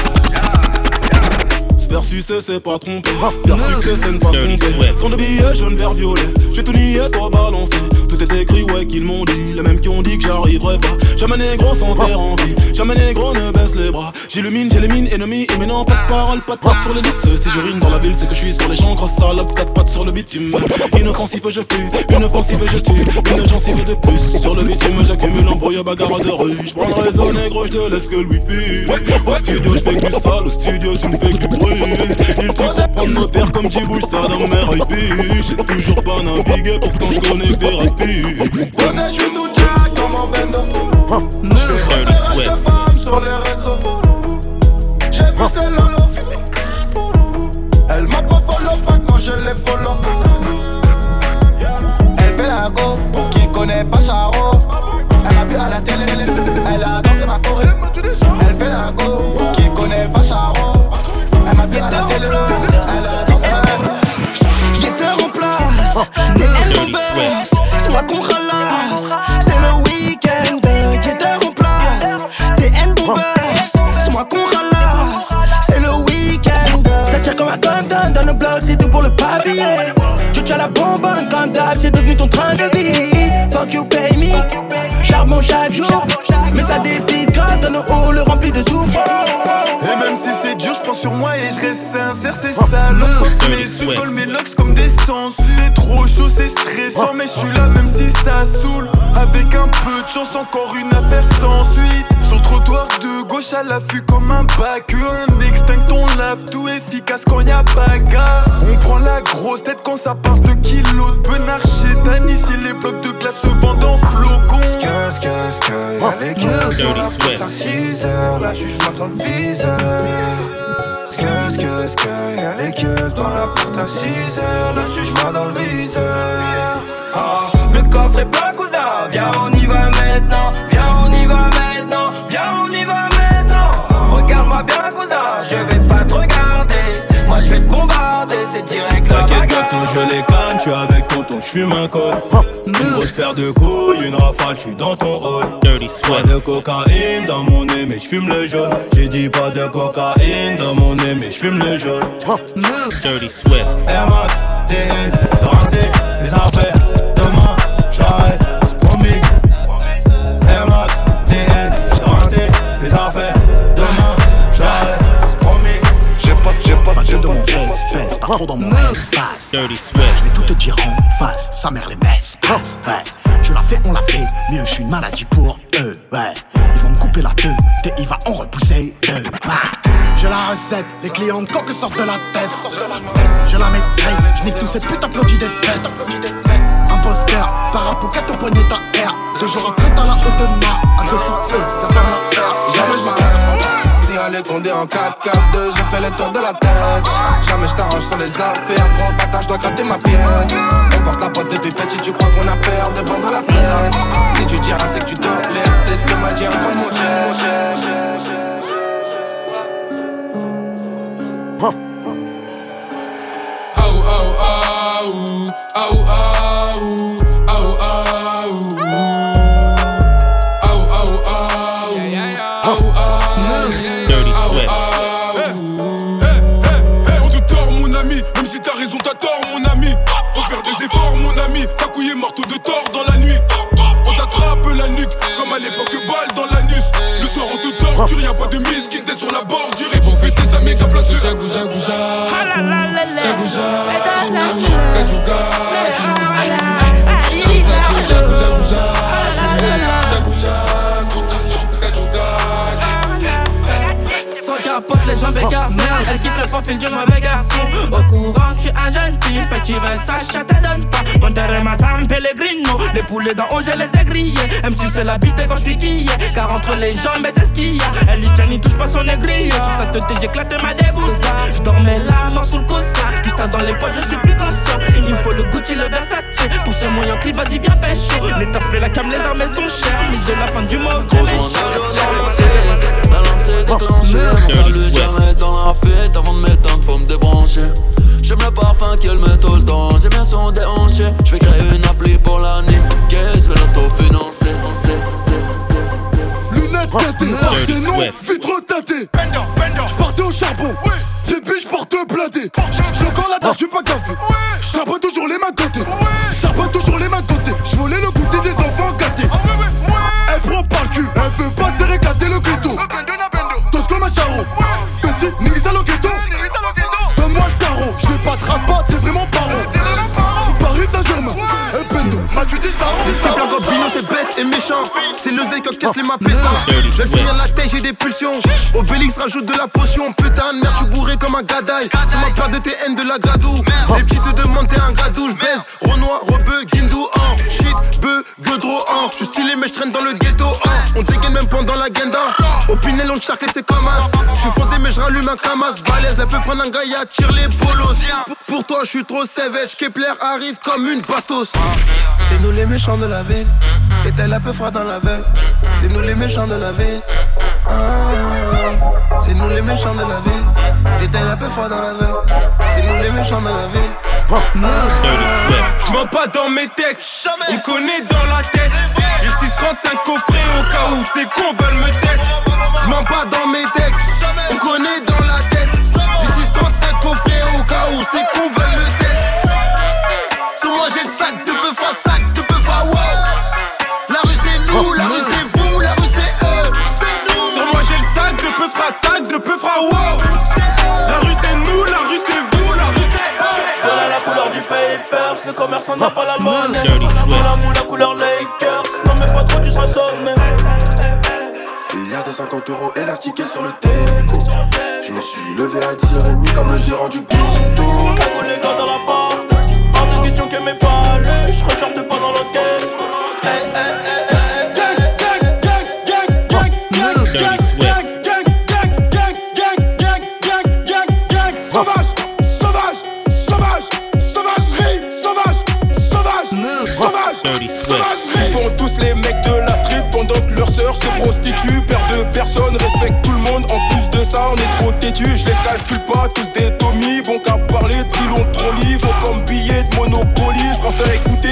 Faire succès c'est pas tromper, faire succès c'est ne pas se tromper. Tant de billets jaune vert violet, j'ai tout nié, toi balancé. Tout est écrit, ouais qu'ils m'ont dit, les mêmes qui ont dit que j'arriverai pas. Jamais négro sans terre en vie, jamais négro ne baisse les bras. J'illumine, j'élimine, ennemis, imminent, pas de parole, pas de patte sur les lips. Si je rime dans la ville, c'est que je suis sur les champs, grosse salope, 4 pattes sur le bitume. Inoffensif je fuis, inoffensif je tue, une gencive de plus. Sur le bitume j'accumule embrouille, bagarre de rue. J'prends le réseau négro, j'te laisse que le wifi. Au studio j'fais que du sale, au studio tu me fais que du bruit. Il t'y faut prendre nos terres comme j'y bouge ça dans mes IP. J'ai toujours pas navigué, pourtant j'connais que des rapides. Posé, j'suis sous Jack comme un bendo. J'fais repérage de femmes sur les réseaux. J'ai vu ses lolo. Elle m'a pas follow, pas quand je les follow. Elle fait la go, qui connaît pas Charo. Elle m'a vu à la télé, elle a dansé ma choré. Elle fait la go, qui connaît pas Charo. Elle m'a vu à la télé, elle a dansé ma choré. Guetteur en place, t'es elle mon boss. C'est moi qu'on ralasse, c'est le week-end. Guetteur en place, t'es elle mon boss. C'est moi qu'on ralasse, c'est le week-end. Ça tire comme un condom dans le bloc, c'est tout pour le papier. Tu tiens la bonbonne quand d'hab, c'est devenu ton train de vie. Fuck you pay me, charbon chaque jour. Mais ça débite grave dans nos halls remplis de souffrance. Et même si c'est dur, j'prends sur moi et je reste sincère, c'est ça. L'autre mes sous colle mes locks comme des sangsues. C'est trop chaud, c'est stressant, mais je suis là même si ça saoule. Avec un peu de chance, encore une affaire sans suite. Sur le trottoir de gauche à l'affût comme un bac. Un extinct, on lave tout efficace quand y'a bagarre. On prend la grosse tête quand ça part de kilos de benard chez Dan. Ici les blocs de glace se vendent en flocons. Y'a les gueules dans la porte à 6h. La juge m'attend le viseur. Y'a les gueules dans la porte à 6h. La juge m'a dans le viseur. Le coffre est plein cousin. Viens on y va maintenant. Viens on y va maintenant. Viens on y va maintenant. Regarde j'fume un col. Une grosse paire de couilles, une rafale, j'suis dans ton hall. Dirty Swift. Pas de cocaïne dans mon nez, mais j'fume le jaune. J'ai dit pas de cocaïne dans mon nez, mais j'fume le jaune. Dirty Swift. Air Max, TN, racheter les affaires. Demain, j'arrête, c'est promis. Air Max, TN, racheter les affaires. Demain, j'arrête, c'est promis. Pas de mon espèce, pas trop dans mon espace. Dirty Swift. Je vais tout te dire en face, sa mère les messes. Ouais, tu l'as fait, on l'a fait. Mieux, je suis une maladie pour eux. Ouais, ils vont me couper la queue, et il va en repousser deux. J'ai la recette, les clients coques sortent de la tête. Je la maîtrise, je nique tout cette pute applaudit des fesses. Imposteur, parapocat au poignet ta air. 2 jours après t'as la haute marre. À 200 y'a pas d'affaire. Jamais je m'arrête. Si on est condé en 4-4-2, je fais le tour de la thèse. Jamais je t'arrange sur les affaires. Gros bâtard, je dois gratter ma pièce. On porte la poste depuis petit, tu crois qu'on a peur de vendre la cesse. Si tu diras c'est que tu te plais, c'est ce que m'a dit un grand de mon chien. On te tord mon ami, même si t'as raison t'as tort mon ami. Faut faire des efforts mon ami, ta couille est morte de tort dans la nuit. On t'attrape la nuque, comme à l'époque balle dans l'anus. Le soir on te torture, y'a pas de mise qui tête sur la bordure. Et pour fêter sa méga place le Jagouja Jagouja Jagouja Kadjouga Sans capote, les jambes écartées. Elle quitte le profil du mauvais garçon. Au courant que je suis un jeune type. Petit Versace, ça te donne pas. Mon terrain, ma Sam Pellegrino. Les poulets dans haut, je les ai grillés. Même si c'est la bite quand je suis quillé. Car entre les jambes, c'est ce qu'il y a. Elle dit tiens, n'y touche pas son aigri. Sur ta tête, j'éclate ma déboussa. Je dormais la mort sous le coussin. Juste dans les poches, je suis plus conscient. Il me faut le Gucci, le Versace. Pour ce moyen clip, vas-y bien pécho. Les taffes, la cam, les armes sont chères. Mais de la fin du mot, c'est méchant. La lampe s'est déclenchée. On s'allume jamais dans la fête. Avant de m'éteindre, faut me débrancher. J'aime le parfum qu'elle met tout le temps. J'aime bien son déhanché. J'vais créer une appli pour la niquer. J'vais l'autofinancer. Lunettes teintées, Barcénon, vitre teintée. J'partais au charbon, depuis j'porte blindé. J'ai encore la tête, j'suis pas café. J'sarbonne toujours les mains côté. J'sarbonne toujours les mains côté. J'volais le goûter des enfants gâtés. Elle prend par le cul, elle veut pas se réclater le ghetto. Tous comme un charron, petit, nigga lo ghetto. Donne-moi le tarot, j'vais pas de race pas, t'es vraiment paro. Paris Saint-Germain, un pendo, tu dis ça. C'est bien Gobino, c'est bête et méchant. C'est le zèle qui casse les mappessants. Je vais finir la tête, j'ai des pulsions. Au Vélix rajoute de la potion. Putain de merde, j'suis bourré comme un gadaille. Tu m'as peur de tes haines de la gadou. Les petits te demandent t'es un gadou. J'baise, Renoir, Rebeu, Guindou, shit, Beu, Godro, J'suis stylé mais j'traîne dans le ghetto, On dégaine même pendant la guenda. Au Pinel on charcle et c'est comme as. J'suis foncé mais j'rallume un camas. Balèze, la peu Franangaya tire les bolos. Pour toi j'suis trop savage. Kepler arrive comme une bastos. C'est nous les méchants de la ville. T'étais la peu froid dans la veille. C'est nous les méchants de la ville. C'est nous les méchants de la ville. T'étais la peu froid dans la veille. C'est nous les méchants de la ville. J'mens pas dans mes textes, on me connaît dans la tête. J'ai 635 coffrets au cas où ces cons veulent me tester. J'mens pas dans mes textes, on me connaît dans la tête. J'ai 635 coffrets au cas où ces cons veulent me tester. Sur moi j'ai le sac de peu fois sac de peu fois wow. La rue c'est nous, la rue c'est vous, la rue c'est eux. Sur moi j'ai le sac de peu fra sac de peu fra wow. La rue c'est nous, la rue c'est vous, la rue c'est eux. Voilà la couleur du paper, le commerçant n'a pas la monnaie. La moule, la couleur Lakers, non mais pas trop tu seras sonné. Il y a 250 € élastiqués sur le déco. Je me suis levé à 10h30 comme le gérant du ghetto. Cagoule les gars dans la porte, hors de question que mes balais, je ressorte pas dans l'hôtel. Ils font tous les mecs de la street pendant que leurs sœurs se prostituent. Père de personne, respecte tout le monde. En plus de ça, on est trop têtu. Je les calcule pas, tous des Tommy. Bon qu'à parler de qui l'ont trop livré. Faut comme billet de Monopoly. Je préfère écouter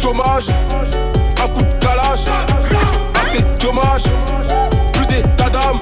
chômage, un coup de calage. Ah c'est dommage, plus d'état d'âme.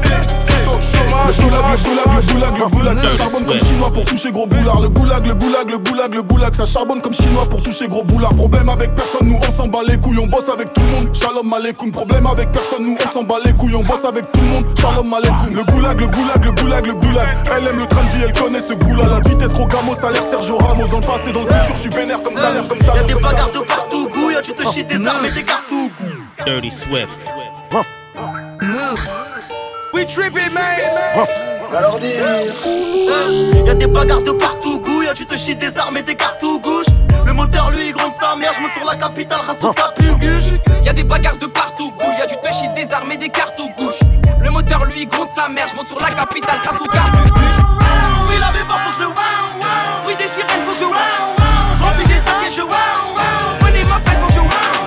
Le goulag, ça charbonne comme chinois pour toucher gros boulard. Le goulag, ça charbonne comme chinois pour toucher gros boulard. Problème avec personne, nous on s'en bat les couilles, on bosse avec tout le monde. Shalom aleikoum. Problème avec personne, nous on s'en bat les couilles, on bosse avec tout le monde. Shalom aleikoum. Le goulag. Elle aime le train de vie, elle connaît ce goût-là. La vitesse, Rogamo, salaire, Sergio Ramos. Dans le passé, dans le futur, je suis vénère comme ta mère, Y'a des bagarres de partout, gouille, tu te chies des armes et des cartouches. Dirty Swift. Move. We trippin', man. Alors dire y'a des bagarres de partout, gouille, tu te chies des armes et des cartouches. Le moteur lui gronde sa mère, j'monte sur la capitale, rassure ta puguche. Y'a des bagarres de partout, gouille, tu te chies des armes et des cartouches. Le moteur lui gronde sa mère, j'monte sur la capitale, rassure ta puguche. Oui la béba faut que je le wow. Oui des sirènes faut que je wow. J'remplis des sacs et je wow. Venez ma frère faut que je wow.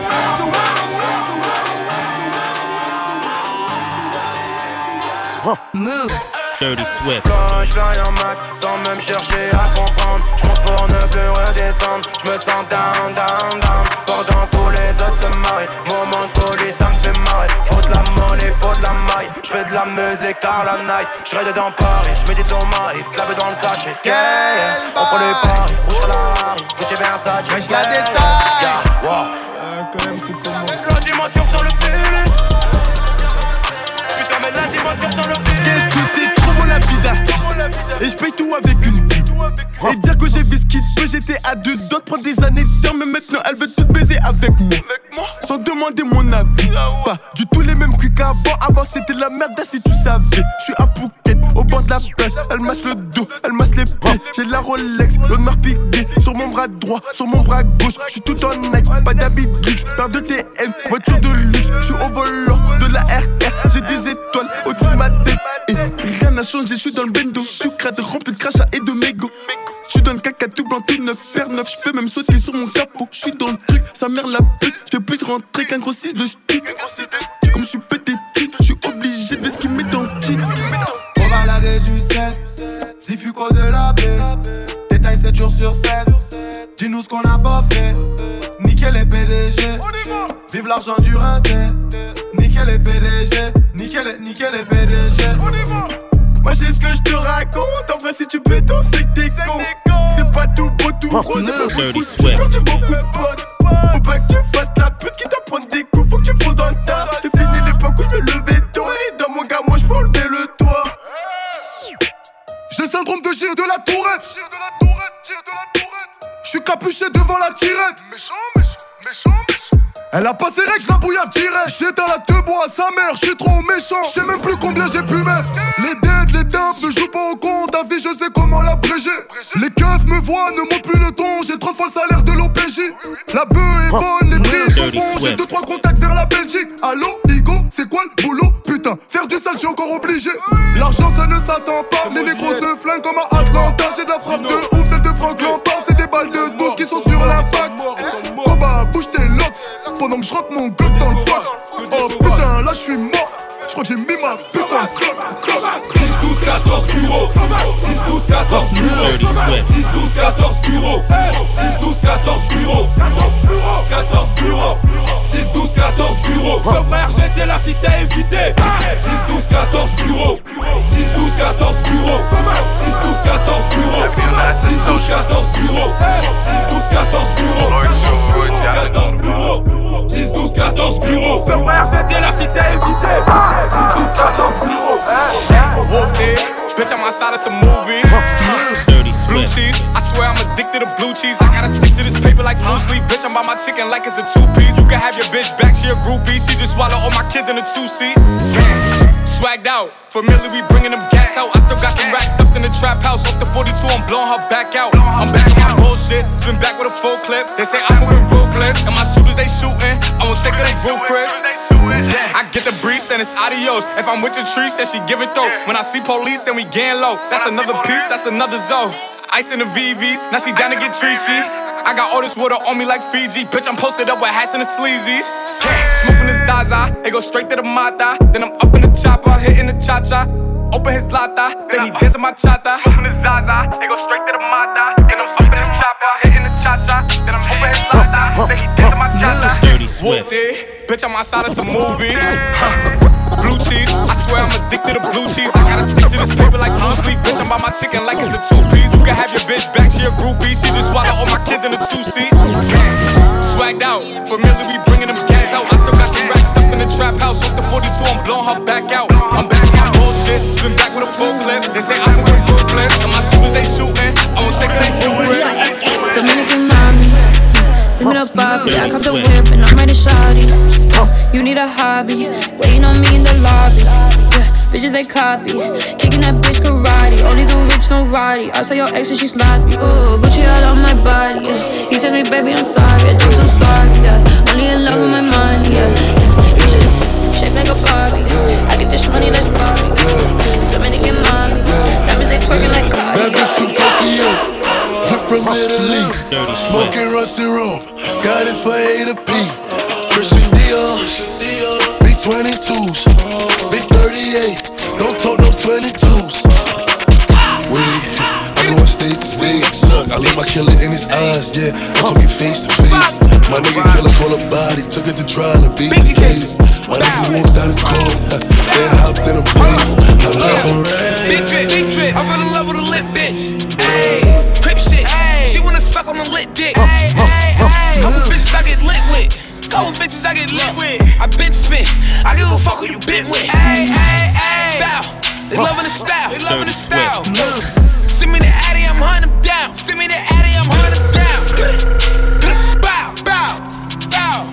Move. Dirty Swift. J'fly en max sans même chercher à comprendre. J'monte pour ne plus redescendre. J'me sens down. Pendant tous les autres se marient. Moment de folie, ça me fait marrer. Faut de la monnaie, faut de la maille. J'fais de la musique tard la night. J'raide dans Paris, j'médite sur Marie. Sclave dans le sachet. Yeah, on prend les paris. Rouge à la Harry, Gucci Versace. J'mèche la détaille. Quand même c'est comment. L'antimenture sur le fil. Putain mais l'antimenture sur le fil. Qu'est-ce que c'est trop bon la vie d'artiste. Et j'paye tout avec une pute. Et dire que j'ai vu ce qu'il peut, j'étais à deux doigts de prendre des années de temps. Mais maintenant elle veut tout baiser avec moi. Sans demander mon avis. Pas du tout les mêmes cuits qu'avant. Avant c'était de la merde si tu savais. J'suis à Phuket, au bord de la plage. Elle masse le dos, elle masse les pieds. J'ai de la Rolex, l'honneur piqué. Sur mon bras droit, sur mon bras gauche. J'suis tout en Nike, pas d'habit de luxe. Paire de TM, voiture de luxe. J'suis au volant de la RR. J'ai des étoiles au-dessus de ma tête. Et rien n'a changé, j'suis dans le bendo. Sucrade rempli de crachat et de mégots. J'suis dans le caca tout blanc, tout neuf, paire neuf. J'peux même sauter sur mon capot. J'suis dans le truc, sa mère la pute. J'fais plus rentrer qu'un gros 6 de stu. Comme j'suis pété de j'suis obligé de ver ce qu'il met dans le jean. On va balader du 7, si Fuco de la baie. Détail 7 jours sur 7. Dis-nous ce qu'on a pas fait. Nickel les PDG. Vive l'argent du rinté. Nickel les PDG. Nickel les PDG. Moi j'ai ce que je te raconte. En vrai si tu peux danser c'est que t'es con. C'est pas tout beau tout rose. C'est pas beaucoup de beaucoup de potes. Faut pas que tu fasses la pute qui t'apprend des coups. Faut que tu fasses dans le tas. C'est fini l'époque où je me levais tôt. Et dans mon gars moi je peux enlever le toit. J'ai le syndrome de Gilles de la Tourette. J'suis capuché devant la tirette. Méchant. Elle a pas ses règles, j'la bouillave direct. J'éteins la te bois à sa mère, j'suis trop méchant. J'sais même plus combien j'ai pu mettre. Les dettes, les dumps ne jouent pas au compte. Ta vie, je sais comment l'abréger. Les keufs me voient, ne montent plus le ton. J'ai 3 fois le salaire de l'OPJ. La bœuf est bonne, les prix sont bons. J'ai 2-3 contacts vers la Belgique. Allô, Igo, c'est quoi le boulot? Putain, faire du sale, j'suis encore obligé. L'argent, ça ne s'attend pas. Les négros se flinguent comme à Atlanta. J'ai de la frappe de ouf, celle de Franck Lampard. C'est des balles de 12 qui sont sur l'impact. Combat, bouge tes locks. Pendant que je rentre mon gueule dans le fac. Oh putain, là je suis mort. Je crois que j'ai mis ma putain de clope. 10, 12, 14 bureaux. 10, 12, 14 bureaux. 10, 12, 14 bureaux. 10, 12, 14 bureaux. 14 bureaux. 10, 12, 14 bureaux. Ce frère, j'étais là si t'as évité. 10, 12, 14 bureaux. 10, 12, 14 bureaux. 10, 12, 14 bureaux. 10, 12, 14 bureaux. 10, 12, 14 bureaux. 14 bureaux. 10, 12, 14 bureaux. Ce frère, j'étais là si t'as évité. 10, 12, 14 bureaux. Whoop it, bitch, I'm outside of some movie. Blue cheese, I swear I'm addicted to blue cheese. I gotta stick to this paper like blue sleep. Bitch, I'm by my chicken like it's a 2-piece. You can have your bitch back, she a groupie. She just swallow all my kids in a 2-seat. Swagged out, familiar, we bringing them gas out. I still got some racks stuffed in the trap house. Off the 42, I'm blowing her back out. I'm back on my bullshit, spin back with a full clip. They say I'm moving ruthless, and my shooters they shooting. I won't take her, they roof Chris. I get the breeze, then it's adios. If I'm with your trees, then she give it though. When I see police, then we gang low. That's another piece, that's another zone. Ice in the VVs, now she down to get treachy. I got all this water on me like Fiji. Bitch, I'm posted up with hats and the sleazies. Smoking the Zaza, it go straight to the Mata. Then I'm up in the chopper, hitting the cha-cha. Open his lata, then he dancing my chata. Smoking the Zaza, it go straight to the Mata. Then I'm up in the chopper. chopper, hitting the cha-cha. Then I'm over his la-la. Then he did to my cha-cha. Dirty Swift. Bitch, I'm outside of some movie. Blue cheese, I swear I'm addicted to blue cheese. I gotta stick to this paper like blue sleep. Bitch, I'm by my chicken like it's a two-piece. You can have your bitch back, she a groupie. She just swallow all my kids in a two-seat. Swagged out, familiar, we bringing them gas out. I still got some racks stuffed in the trap house. Off the 42, I'm blowing her back out. I'm back out, bullshit. Been back with a full clip. They say I can win full flips. And my shooters, they shooting. I won't take it, they full grip. Dominican mommy, give me the Bobby. I cop the whip and I'm ready to shawty. You need a hobby, waiting on me in the lobby. Yeah, bitches they copy, kicking that bitch karate. Only the rich, no roddy. I saw your ex and she sloppy. Ooh, Gucci all on my body. Yeah. He tells me, baby, I'm sorry. I'm so sorry. Yeah. Only in love with my money. Yeah. Shaped like a Barbie. Yeah. I get this money, let's party. Yeah. Dominican mommy, that means they twerking like Cardi. Bad bitch from Tokyo, drip from Italy. Smoking rusty room, got it for A to P. Christian Dior, big 22s, big 38, don't talk no 22s. Wait, I'm going state to state. Look, I leave my killer in his eyes, yeah. I'm talking face to face. My nigga killer call a body, took it to trial and beat the case. My nigga walked out of court, then hopped in a plane. Big drip, I fell in love with a lit bitch. Ayy, crip shit, she wanna suck on the lit dick. Couple bitches I get lit with. Couple bitches I get lit with. I been spit. I give a fuck who you been with. Ayy, bow. They loving the style. They loving the style. Send me the Addy, I'm hunting them down. Send me the Addy, I'm hunting them down. Bow, bow, bow.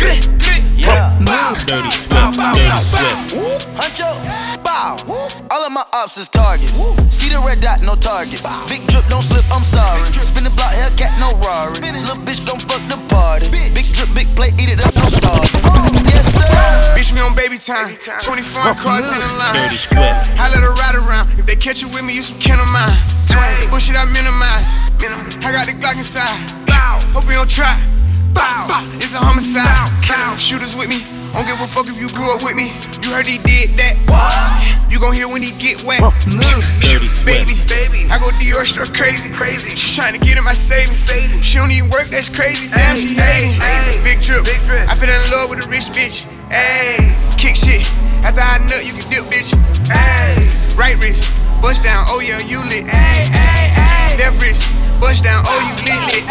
Dirty Swift. Huncho, bow. All of my ops is targets. See the red dot, no target. Big drip, don't slip, I'm sorry. Spin the block, Hellcat, no Rari. Little bitch gon' fuck the party. Big drip, big plate, eat it up, no starve. Yes, sir. Bitch, me on baby time. 24 cars in the line. Dirty Swift. I let her ride around. If they catch you with me, you some kin of mine. Bullshit, I minimize. I got the Glock inside. Hope you don't try. It's a homicide. Shooters with me. Don't give a fuck if you grew up with me. You heard he did that. You gon' hear when he get wet. Baby, I go Dior struck crazy. She tryna get in my savings. She don't even work, that's crazy. Damn, she hating. Big drip. I fell in love with a rich bitch. Ayy, kick shit. After I nut, you can dip, bitch. Ayy, right wrist, bust down. Oh yeah, you lit. Ayy, left wrist, bust down. Oh you lit.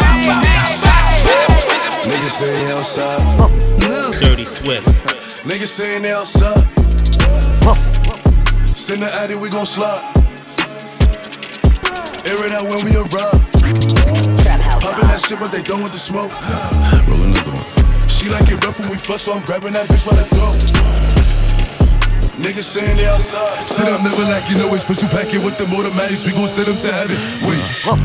Niggas saying they outside. Dirty Swift. Niggas saying they outside. Send the Addy, we gon' slide. Air it out when we arrive. Poppin' that shit, but they done with the smoke. Roll another one. She like it rough when we fuck, so I'm grabbing that bitch by the throat. Niggas saying they outside. Sit up, never like you know it's special packet with them automatics. We gon' send them to heaven. Wait.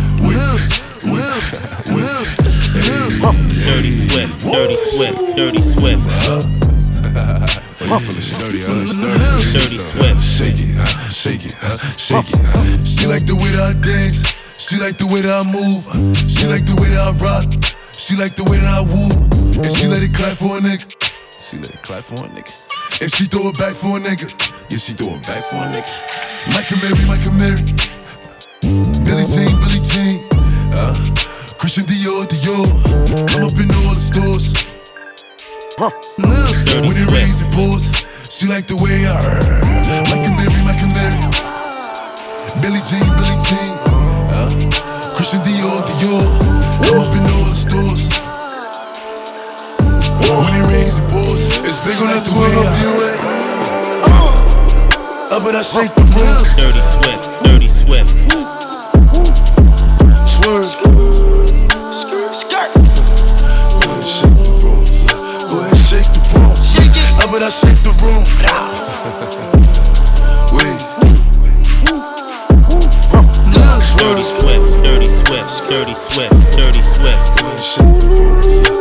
Dirty Swift. Dirty Swift. Dirty Swift. Dirty Swift. Shake it, shake it, shake it. She like the way that I dance. She like the way that I move. She like the way that I rock. She like the way that I woo. And she let it clap for a nigga. She let it clap for a nigga. And she throw it back for a nigga. Yeah, she throw it back for a nigga. Micah Mary. Billie Jean. Christian Dior. I'm up in all the stores. When it rains, it pours. She like the way I Micah Mary. Billie Jean. Christian Dior. I'm up in all the stores. When it rains, it pours. It's big on that 12 up UA. Up and I shake the room. Dirty Swift. Swerve. Skirt. Go ahead, shake the room. Up and I shake the room. Wait. Dirty Swift. Go ahead, shake the room.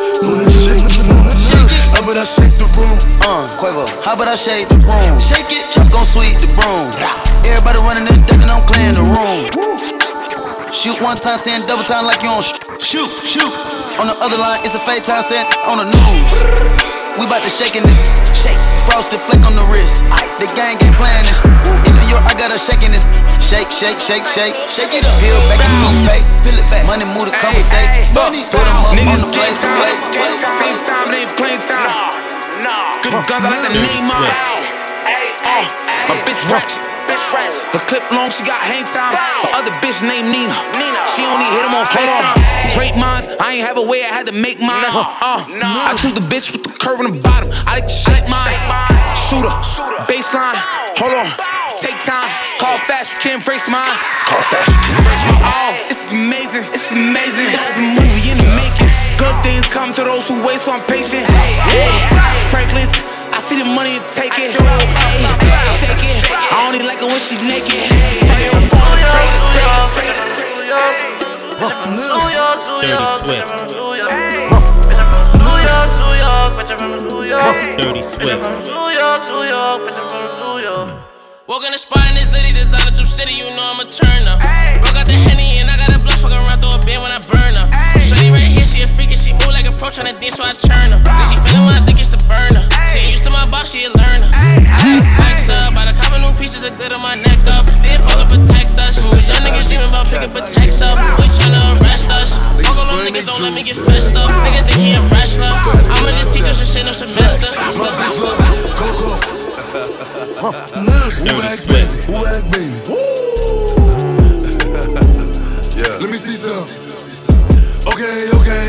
How about I shake the room? Quavo, how about I shake the room? Shake it, Chuck gon' sweep the broom. Everybody running and thinking I'm clearing the room. Shoot one time, saying double time like you on shoot. On the other line, it's a fake time, saying on the news. We bout to shake in this. Shake. Frosted flake on the wrist. Ice. The gang ain't playing this. In New York, I got her shaking this. Shake, shake, shake, shake. Shake it up. Peel back and toothpaste. Peel it back. Money move to conversate. Money. Put them up on the place. Same time, it ain't playing time. Good guns, I like the name on. My bitch ratchet. The clip long, she got hang time. The other bitch named Nina. She only hit him on FaceTime. Great minds, I ain't have a way, I had to make mine. I choose the bitch with the curve on the bottom. I like to shake mine. Shooter, baseline. Hold on, take time. Call fast, you can't embrace mine. Call fast, you can't embrace mine. Oh, this is amazing. This is amazing. This is a movie in the making. Good things come to those who wait, so I'm patient. Franklin's. I see the money and take it. Shake it. I only like it when she naked. Dirty Swift. Walk in the spot and this lady designer to city, you know I'm a turner. Broke out the Henny and I got a blunt, fuck around through a bin when I burn her. Shorty right here, she a freak and she move like a pro tryna dance, so I turn her. Then she feelin' when I think it's the burner. She ain't used to my box, she a learner. I got a fax up, bought a couple new pieces that glitter my neck up. Then fuck protect us. We was young niggas dreaming about picking protects up. We tryna arrest us. Fuck all them niggas, don't let me get fessed up. Nigga think he a wrestler. I'ma just teach him some shit, no Sylvester. Who act baby? Who act baby? Yeah. Let me see some. Okay.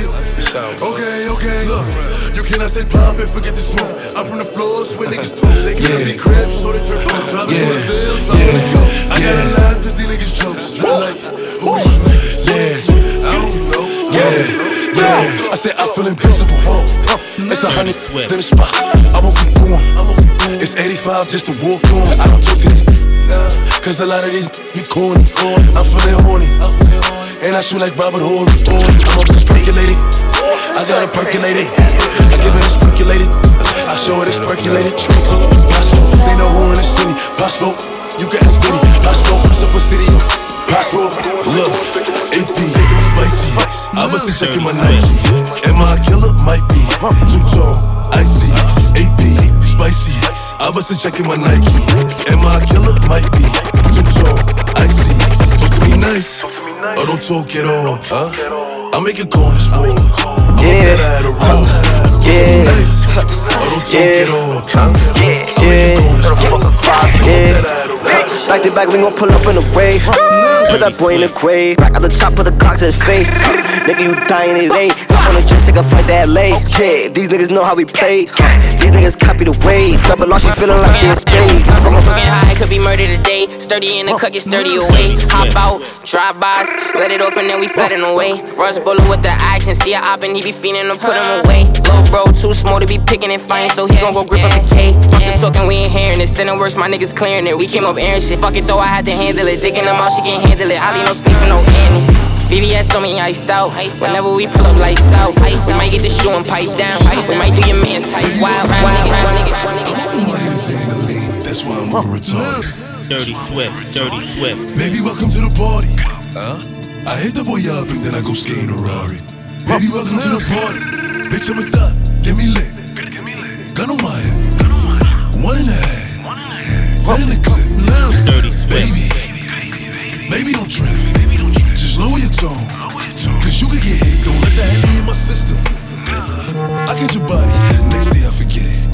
Look, you cannot say pop and forget the smoke. I'm from the floors where niggas talk. They can't be cribs, so they turn from driving on the bill, driving the truck. I got a line, 'cause these niggas jokes. Drill like, who these niggas? I don't know. I said I feel invincible. It's 100 in the spot. I won't keep going. It's 85 just to walk on. I don't talk to these cause a lot of these be corny. I'm feeling horny. And I shoot like Robert Horry. I'm up just percolated. I got it percolated. I give it a percolated. I show it it's percolated. Possible, they know who in the city. Possible, you can ask Diddy. Possible, what's up with city? Possible, look, AP, spicy. I must be checking my Nike. Am I a killer? Might be. Too tall, icy. AP, spicy. I must be checking my Nike. Am I a killer? Might be. Too tall, icy. Talk to me nice, or don't talk at all, huh? I make it go on this wall. I'm get out of the road. Nice, or don't talk at all, huh? I make it go on this wall. Back to back, we gon' pull up in the wave. Put that boy in the grave. Back out the top, put the Glock to his face. Nigga, you dying, it ain't. Hop on the jet, take a flight to LA. Yeah, these niggas know how we play. These niggas copy the wave. Double loss, she feeling like she in space. From a fucking high, could be murder today. Sturdy in the cut, get sturdy away. Hop out, drive-bys, let it off and then we flooding away. Rush bullet with the action, see a op and he be fiending to put him away. Little bro, too small to be picking and fighting, so he gon' go grip up the K. Fuck the talking, we ain't hearing it. Sending worse, my niggas clearing it. We came up airing shit. Fuck it though, I had to handle it. Digging them out, she can't handle it. I leave no space for no Annie. VVS on me iced out. Whenever we pull up lights out, we might get the shoe and pipe down. We might do your man's type. Wild, that's why I'm on retarded. Dirty Swift. Baby, welcome to the party. I hit the boy up and then I go skating a Rari. Baby, welcome to the party. Bitch, I'm a thot, get me lit. Gun on my head, 1.5. Set in the clip. Dirty Swift. Baby, don't trip. Just lower your tone. Cause you can get hit, don't let that Henny in my system. I get your body, next day I forget it.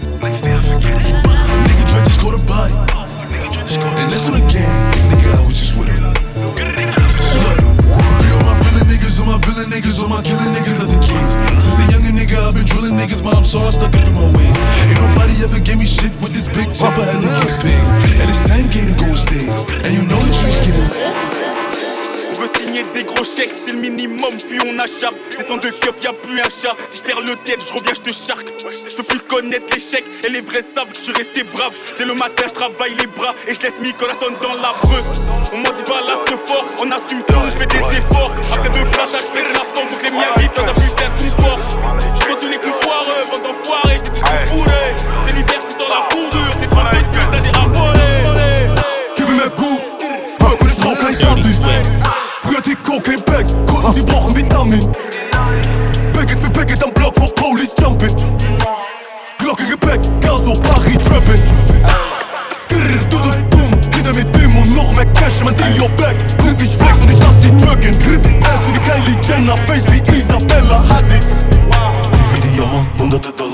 Nigga try just caught a body. And that's on the gang, nigga, I was just with him. Look, all my villain niggas, all my villain niggas, all my killing niggas are the kings. Since a younger nigga, I've been drilling niggas, but I'm so stuck up in my ways. Ain't nobody ever gave me shit with this big chopper, I had to get paid. And it's 10K to go on stage, and you know the streets getting lit. On veut signer des gros chèques, c'est le minimum, puis on achète. Descends de keuf, y'a plus un chat. Si j'perds le tête, j'reviens, j'te charque. J'peux plus connaître l'échec, et les vrais savent que j'suis resté brave. Dès le matin, j'travaille les bras, et j'laisse Nicolas dans la breu. On m'en dit pas là ce fort, on assume tout, on fait des efforts. Après deux platas, j'pète la forme, faut que les miens vivent dans un putain de confort. J'compte tous les coups foireux, vente d'enfoirés, j't'ai tous fourrés. C'est l'hiver, j'te sors la fourrure, c'est 32 plus, c'est-à-dire à voler. Gib mir mehr Goose, Work und ich brauch kein Party. Früher die Cocaine Bags, Kunden, sie brauchen Vitamin. Packet für Packet am Block vor Police Jumping.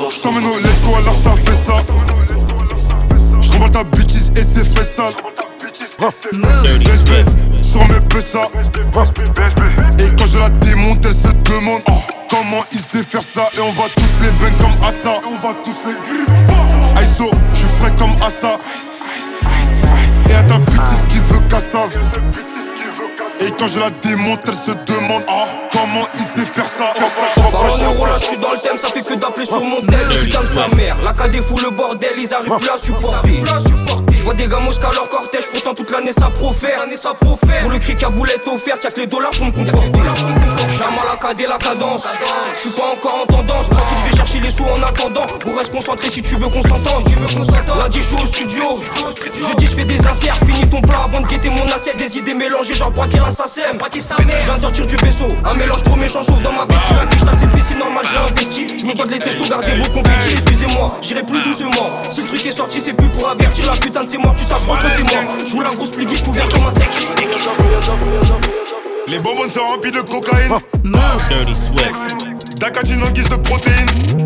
J't'emmène au lesto, alors ça fait ça. J'remballe ta bêtise et c'est fait sale. BSB sur mes pessas. Et quand je la démonte, elle se demande comment il sait faire ça. Et on va tous les bang comme Assa. On va tous les Aiso, j'suis frais comme Assa. Et à ta bêtise qui veut Kassav. Et quand je la démonte, elle se demande comment il sait faire ça. Parlons euro là, j'suis dans le thème, ça fait que d'appeler sur mon tel. Putain de sa mère, la KD fout le bordel, ils arrivent plus à supporter. J'vois des gamos qu'à leur cortège, pourtant toute l'année ça profère. Pour le cric à boulette offerte, y'a que les dollars pour me conforter. Jamais la KD, la cadence. J'suis pas encore en tendance, tranquille, je vais chercher les sous en attendant. On reste concentré si tu veux qu'on s'entende. Lundi, j'suis au studio. Jeudi, j'fais des inserts, finis ton plat avant de guetter mon assiette. Des idées mélangées, genre braquer la SACEM. Je viens de sortir du vaisseau, un mélange trop méchant, chauffe dans ma vessie. Un biche d'ACP, c'est normal, je réinvestis. Je me dois de les tessos, gardez vos confettis. Excusez-moi, j'irai plus doucement. Si le truc est sorti, c'est plus pour avertir. La putain de c'est mort, tu t'approches, c'est moi. J'voulais un gros spliggy couvert comme un sec. Les bonbons sont remplis de cocaïne. Dirty Swift. D'acatine en guise de protéines.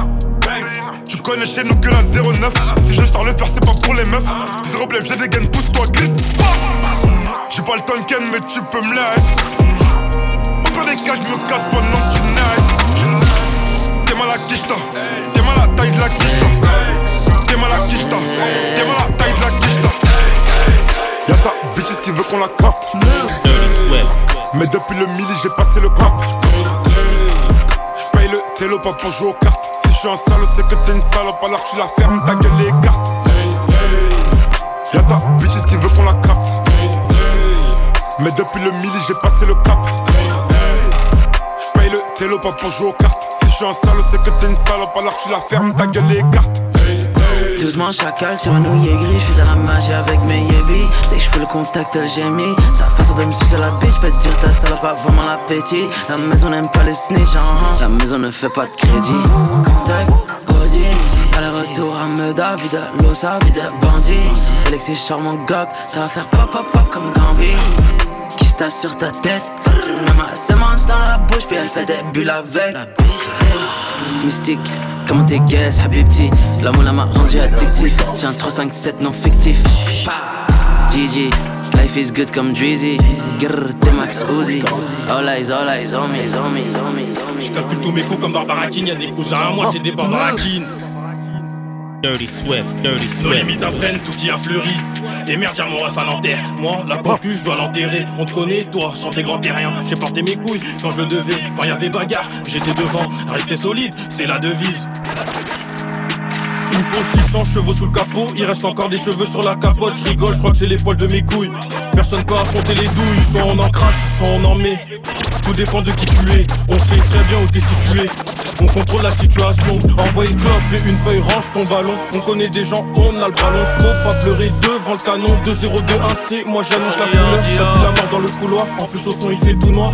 Tu connais chez nous que la 09. Si je sors le faire, c'est pas pour les meufs. 0 blef, j'ai des gaines, pousse-toi, glisse. J'ai pas le Tonken, mais tu peux me laisser. Au pire des cas, je me casse pendant que tu naisses. T'es mal à Kishta, t'es mal à la taille de la Kishta. T'es mal à Kishta, t'es mal à la taille de la Kishta. Y'a ta bitches qui veut qu'on la capte. Mais depuis le midi, j'ai passé le cap. J'paye le télo pas pour jouer aux cartes. Si j'suis un sale, c'est que t'es une salope, alors tu la fermes, ta gueule les cartes. Y'a ta bitches qui veut qu'on la capte. Mais depuis le midi, j'ai passé le cap. J'paye le télo pas pour jouer aux cartes. Si j'suis un sale, c'est que t'es une salope, alors tu la fermes, ta gueule les cartes. Doucement chacal, tu renouilles gris, j'suis dans la magie avec mes yébis. Dès que j'fais le contact, elle gémit. Sa façon de me sucer la bitch, j'peux te dire ta salope a vraiment l'appétit. La maison n'aime pas les snitch, la maison ne fait pas de crédit. Contact, Audi, aller-retour à Meda, vide l'osa, vide bandit. Alexis charmant gog, ça va faire pop pop pop comme Gambi. Qui j'tasse sur ta tête, la masse mange dans la bouche, puis elle fait des bulles avec. Mystique, comment t'es guess, habibti. La moula m'a rendu addictif. Tiens 357 non fictif. GG, life is good comme Drizzy. Grrr, t'es Max Uzi. All eyes on me, on me, on me. J'calcule tous mes coups comme Barbara King. Y'a des cousins à moi, c'est des Barbara King. Dirty Swift, Dirty Dans les Swift. mises à freine, tout qui a fleuri. Et merde, y'a mon ref à l'enterre. Moi, la concu, je dois l'enterrer. On te connaît, toi, sans tes grands terriens. J'ai porté mes couilles quand je le devais. Quand y'avait bagarre, j'étais devant. Rester solide, c'est la devise. Il me faut 600 chevaux sous le capot. Il reste encore des cheveux sur la capote. Je rigole, je crois que c'est les poils de mes couilles. Personne peut affronter les douilles. Soit on en crache, soit on en met. Tout dépend de qui tu es. On sait très bien où t'es situé. On contrôle la situation. Envoie une clope et une feuille, range ton ballon. On connaît des gens, on a le ballon. Faut pas pleurer devant le canon. 2-0-2-1-C, moi j'annonce la couleur. J'ai plus la mort dans le couloir. En plus au fond il fait tout noir.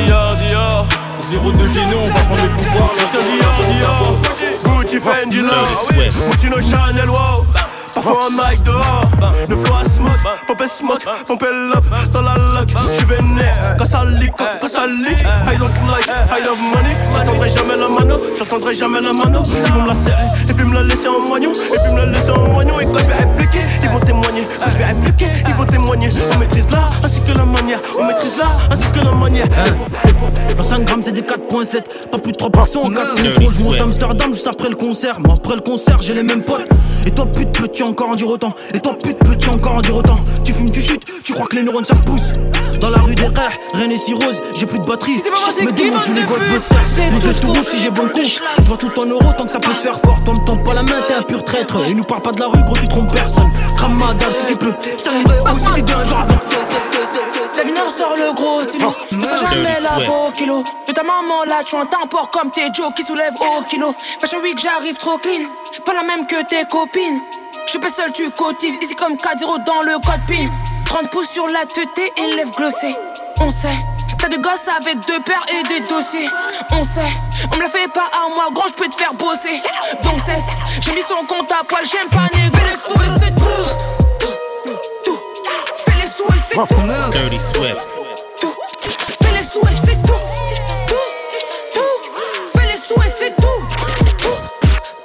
0-2 gêné, on va prendre le pouvoir. Gucci, Fendi, Gucci, no Chanel, wow. Parfois un mic dehors, le flow à smoke, pompe l'up dans la lock. J'suis vénère, quand ça leak, I don't like, I love money. J'attendrai jamais la mano, Ils vont me la serrer, et puis me la laisser en moignon. Et quand je vais répliquer, ils vont témoigner. On maîtrise l'art, ainsi que la manière. La 5 grammes c'est des 4.7, pas plus de 3 personnes en 4 contrôles. Je monte à Amsterdam juste après le concert. Mais après le concert j'ai les mêmes potes. Et toi pute peux-tu encore en dire autant? Tu fumes, tu chutes, tu crois que les neurones ça repousse. Dans la rue des rêves, rien n'est si rose. J'ai plus de batterie, chasse mes démons, joue les Ghostbusters. Les yeux tout rouges si j'ai bonne couche. Je vois tout en euros tant que ça peut se faire fort. Toi me tends pas la main, t'es un pur traître. Et nous parle pas de la rue, gros tu trompes personne. Crame ma dalle si tu peux, j't'allumerai haut si t'es bien genre avant. La vie sort le gros stylo. Ne fais jamais la beau kilo. De ta maman là, tu un port comme tes Joe qui soulèvent au kilo. Fashion week, j'arrive trop clean. Pas la même que tes copines. J'suis pas seul, tu cotises. Ici comme 4-0 dans le code PIN. 30 pouces sur la tête et lèvres glossées. On sait, t'as des gosses avec 2 paires et des dossiers. On sait, on me la fait pas à moi, gros, j'peux te faire bosser. Donc cesse, j'ai mis son compte à poil, j'aime pas négocier. Les sous et c'est tout. Fais les sous et c'est tout. Dirty Swift. Fais les sous et c'est tout. Fais les sous et c'est tout.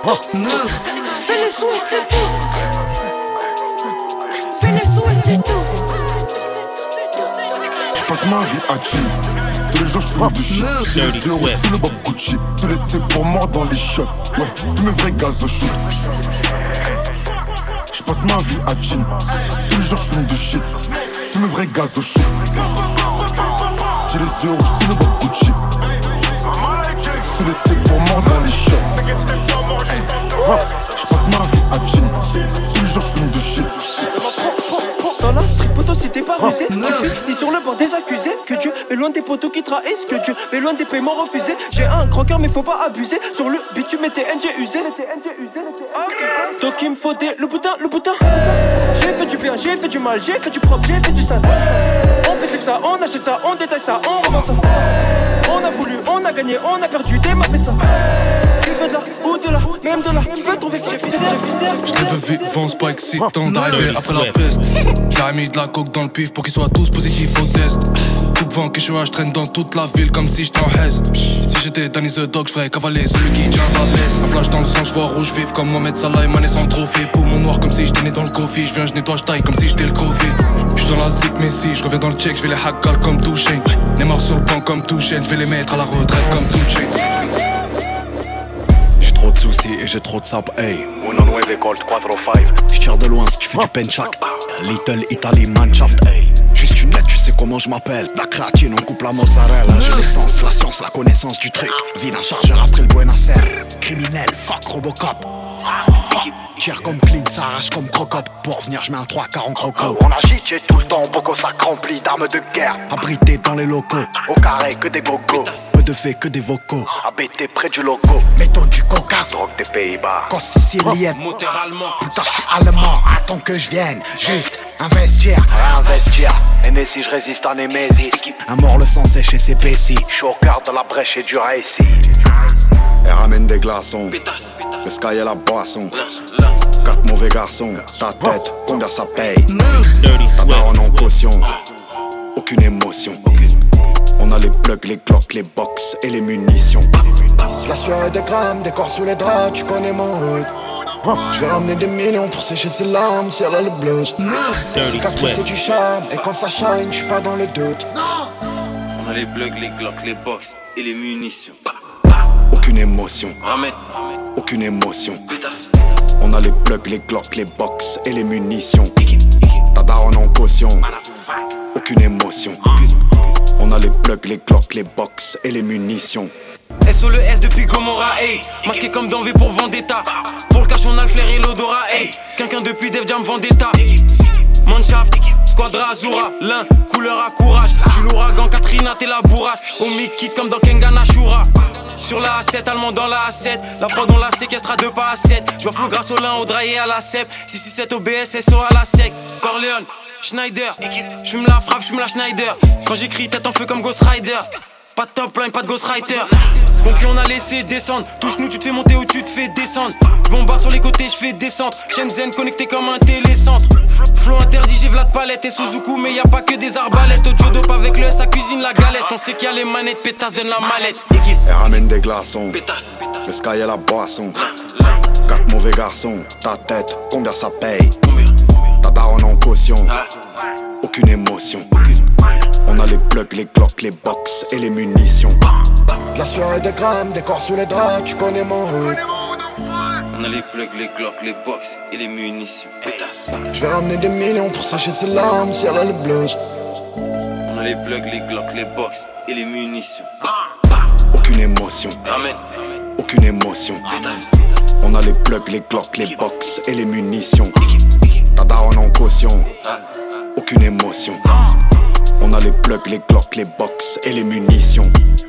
Fais les sous et c'est tout. Fais les sous et c'est tout. J'passe ma vie à chill. Tous les jours j'fume du shit. J'ai les euros sous le bob Gucci. Te laisser pour mort dans les shots. Ouais, tous mes vrais gaz au shoot. J'passe ma vie à chill. Tous les jours j'fume du shit. Tous mes vrais gaz au shoot. J'ai les euros sous le bob Gucci. Te laisser pour mort dans les shots. J'passe ma vie à chill. Tous les jours j'fume du shit. Dans la street poteau si t'es pas rusé, tu finis sur le banc des accusés. Que Dieu mais loin des poteaux qui trahissent, que Dieu mais loin des paiements refusés. J'ai un grand cœur mais faut pas abuser. Sur le bitume et tes NG usés. Donc il me faut le boutin. J'ai fait du bien, j'ai fait du mal, j'ai fait du propre, j'ai fait du sale. On fait ça, on achète ça, on détaille ça, on revend ça. On a voulu, on a gagné, on a perdu, démappé ça. Tu veux de là, ou de là, même de là, tu peux trouver que j'ai fait. Je les veux vivants, c'est pas excitant d'arriver après la peste. J'ai mis de la coke dans le pif pour qu'ils soient tous positifs au test. Coupe vent que je traîne dans toute la ville comme si j'étais en haise. Si j'étais Danny the Dog, j'ferais cavaler celui qui tient la laisse. Un flash dans le sang, j'vois rouge vif comme Mohamed Salah et Mané sans trophée. Poumon noir comme si j'étais né dans le coffee. J'viens, j'nettoie, j'taille comme si j'étais le Covid. J'suis dans la zik mais si j'reviens dans le check, j'vais les hackal comme Touché. Neymar sur le banc comme Touché, j'vais les mettre à la retraite comme Touché. Trop de soucis et j'ai trop de sap, hey. Uno nueve Colt 405. J'tire de loin si tu fais du penchak. Little Italy Manshaft, hey. Juste une lettre, tu sais comment je m'appelle. La créatine, on coupe la mozzarella. J'ai l'essence, la science, la connaissance du truc. Vide un chargeur après le Buenos Aires. Criminel, fuck Robocop. Tire comme clean, ça arrache comme crocop. Pour venir, j'mets un 3-4 en croco. On agite, j'ai tout le temps, beaucoup sac rempli d'armes de guerre. Abrité dans les locaux, au carré que des gogos. Peu de faits que des vocaux, habité près du logo. Méthode du Caucase, drogue des Pays-Bas. Quand sicilienne, moteur allemand. Putain, j'suis allemand, attends que je vienne. Juste investir, réinvestir. Et si je résiste en Némésis. Un mort le sang sèche et c'est Pessi. J'suis au quart de la brèche et du récit. Elle ramène des glaçons, le sky et la boisson. 4 mauvais garçons, ta tête, combien ça paye? Ta daronne en caution, aucune émotion. On a les plugs, les glocks, les box et les munitions. La soirée des grammes, des corps sous les draps, tu connais mon hood. Je vais ramener des millions pour sécher ses larmes si elle a le blues. Cicatrice c'est du charme, et quand ça shine, j'suis pas dans le doute. On a les plugs, les glocks, les box et les munitions. Aucune émotion, Ramène. aucune émotion. On a les plugs, les glocks, les box et les munitions. Ta daronne en caution, aucune émotion. On a les plugs, les glocks, les box et les munitions. SO le S depuis Gomorrah, hey. Masqué comme dans V pour Vendetta. Pour le cash on a le flair et l'odorat, hey. Quelqu'un depuis Def Jam Vendetta. Manshaft, Squadra Azura, l'un, couleur à courage. J'suis l'ouragan, Katrina, t'es la bourrasse. Au Mickey comme dans Kengan Ashura. Sur la A7, allemand dans la A7. La prod on la séquestre à 2 pas à 7. J'vois flou grâce au lin, au draillé à la CEP. 667 OBS, SO à la sec. Corleone, Schneider. J'fume la frappe, j'fume la Schneider. Quand j'écris tête en feu comme Ghost Rider. Pas de top line, pas de Ghost Rider. Concu on a laissé descendre. Touche-nous, tu te fais monter ou tu te fais descendre. J'bombarde sur les côtés, j'fais descendre. Shenzhen connecté comme un télécentre. Flow interdit, j'ai Vlad Palette et Suzuku. Mais y'a pas que des arbalètes. Au Jodope avec le S, à cuisine la galette. On sait qu'il y a les manettes, pétasse, donne la mallette. Elle ramène des glaçons, le sky et la boisson. 4 mauvais garçons, ta tête, combien ça paye? Ta daronne en caution, aucune émotion. On a les plugs, les glocks, les box et les munitions. La soirée des grammes, des corps sous les draps, tu connais mon hood. On a les plugs, les glocks, les box et les munitions. Pétasse. Je vais ramener des millions pour sécher ses larmes si elle a le blues. On a les plugs, les glocks, les box et les munitions. Aucune émotion, Ramène. aucune émotion. Pétasse. On a les plugs, les glocks, les box et les munitions. Ta daronne en caution, aucune émotion. On a les plugs, les glocks, les box et les munitions.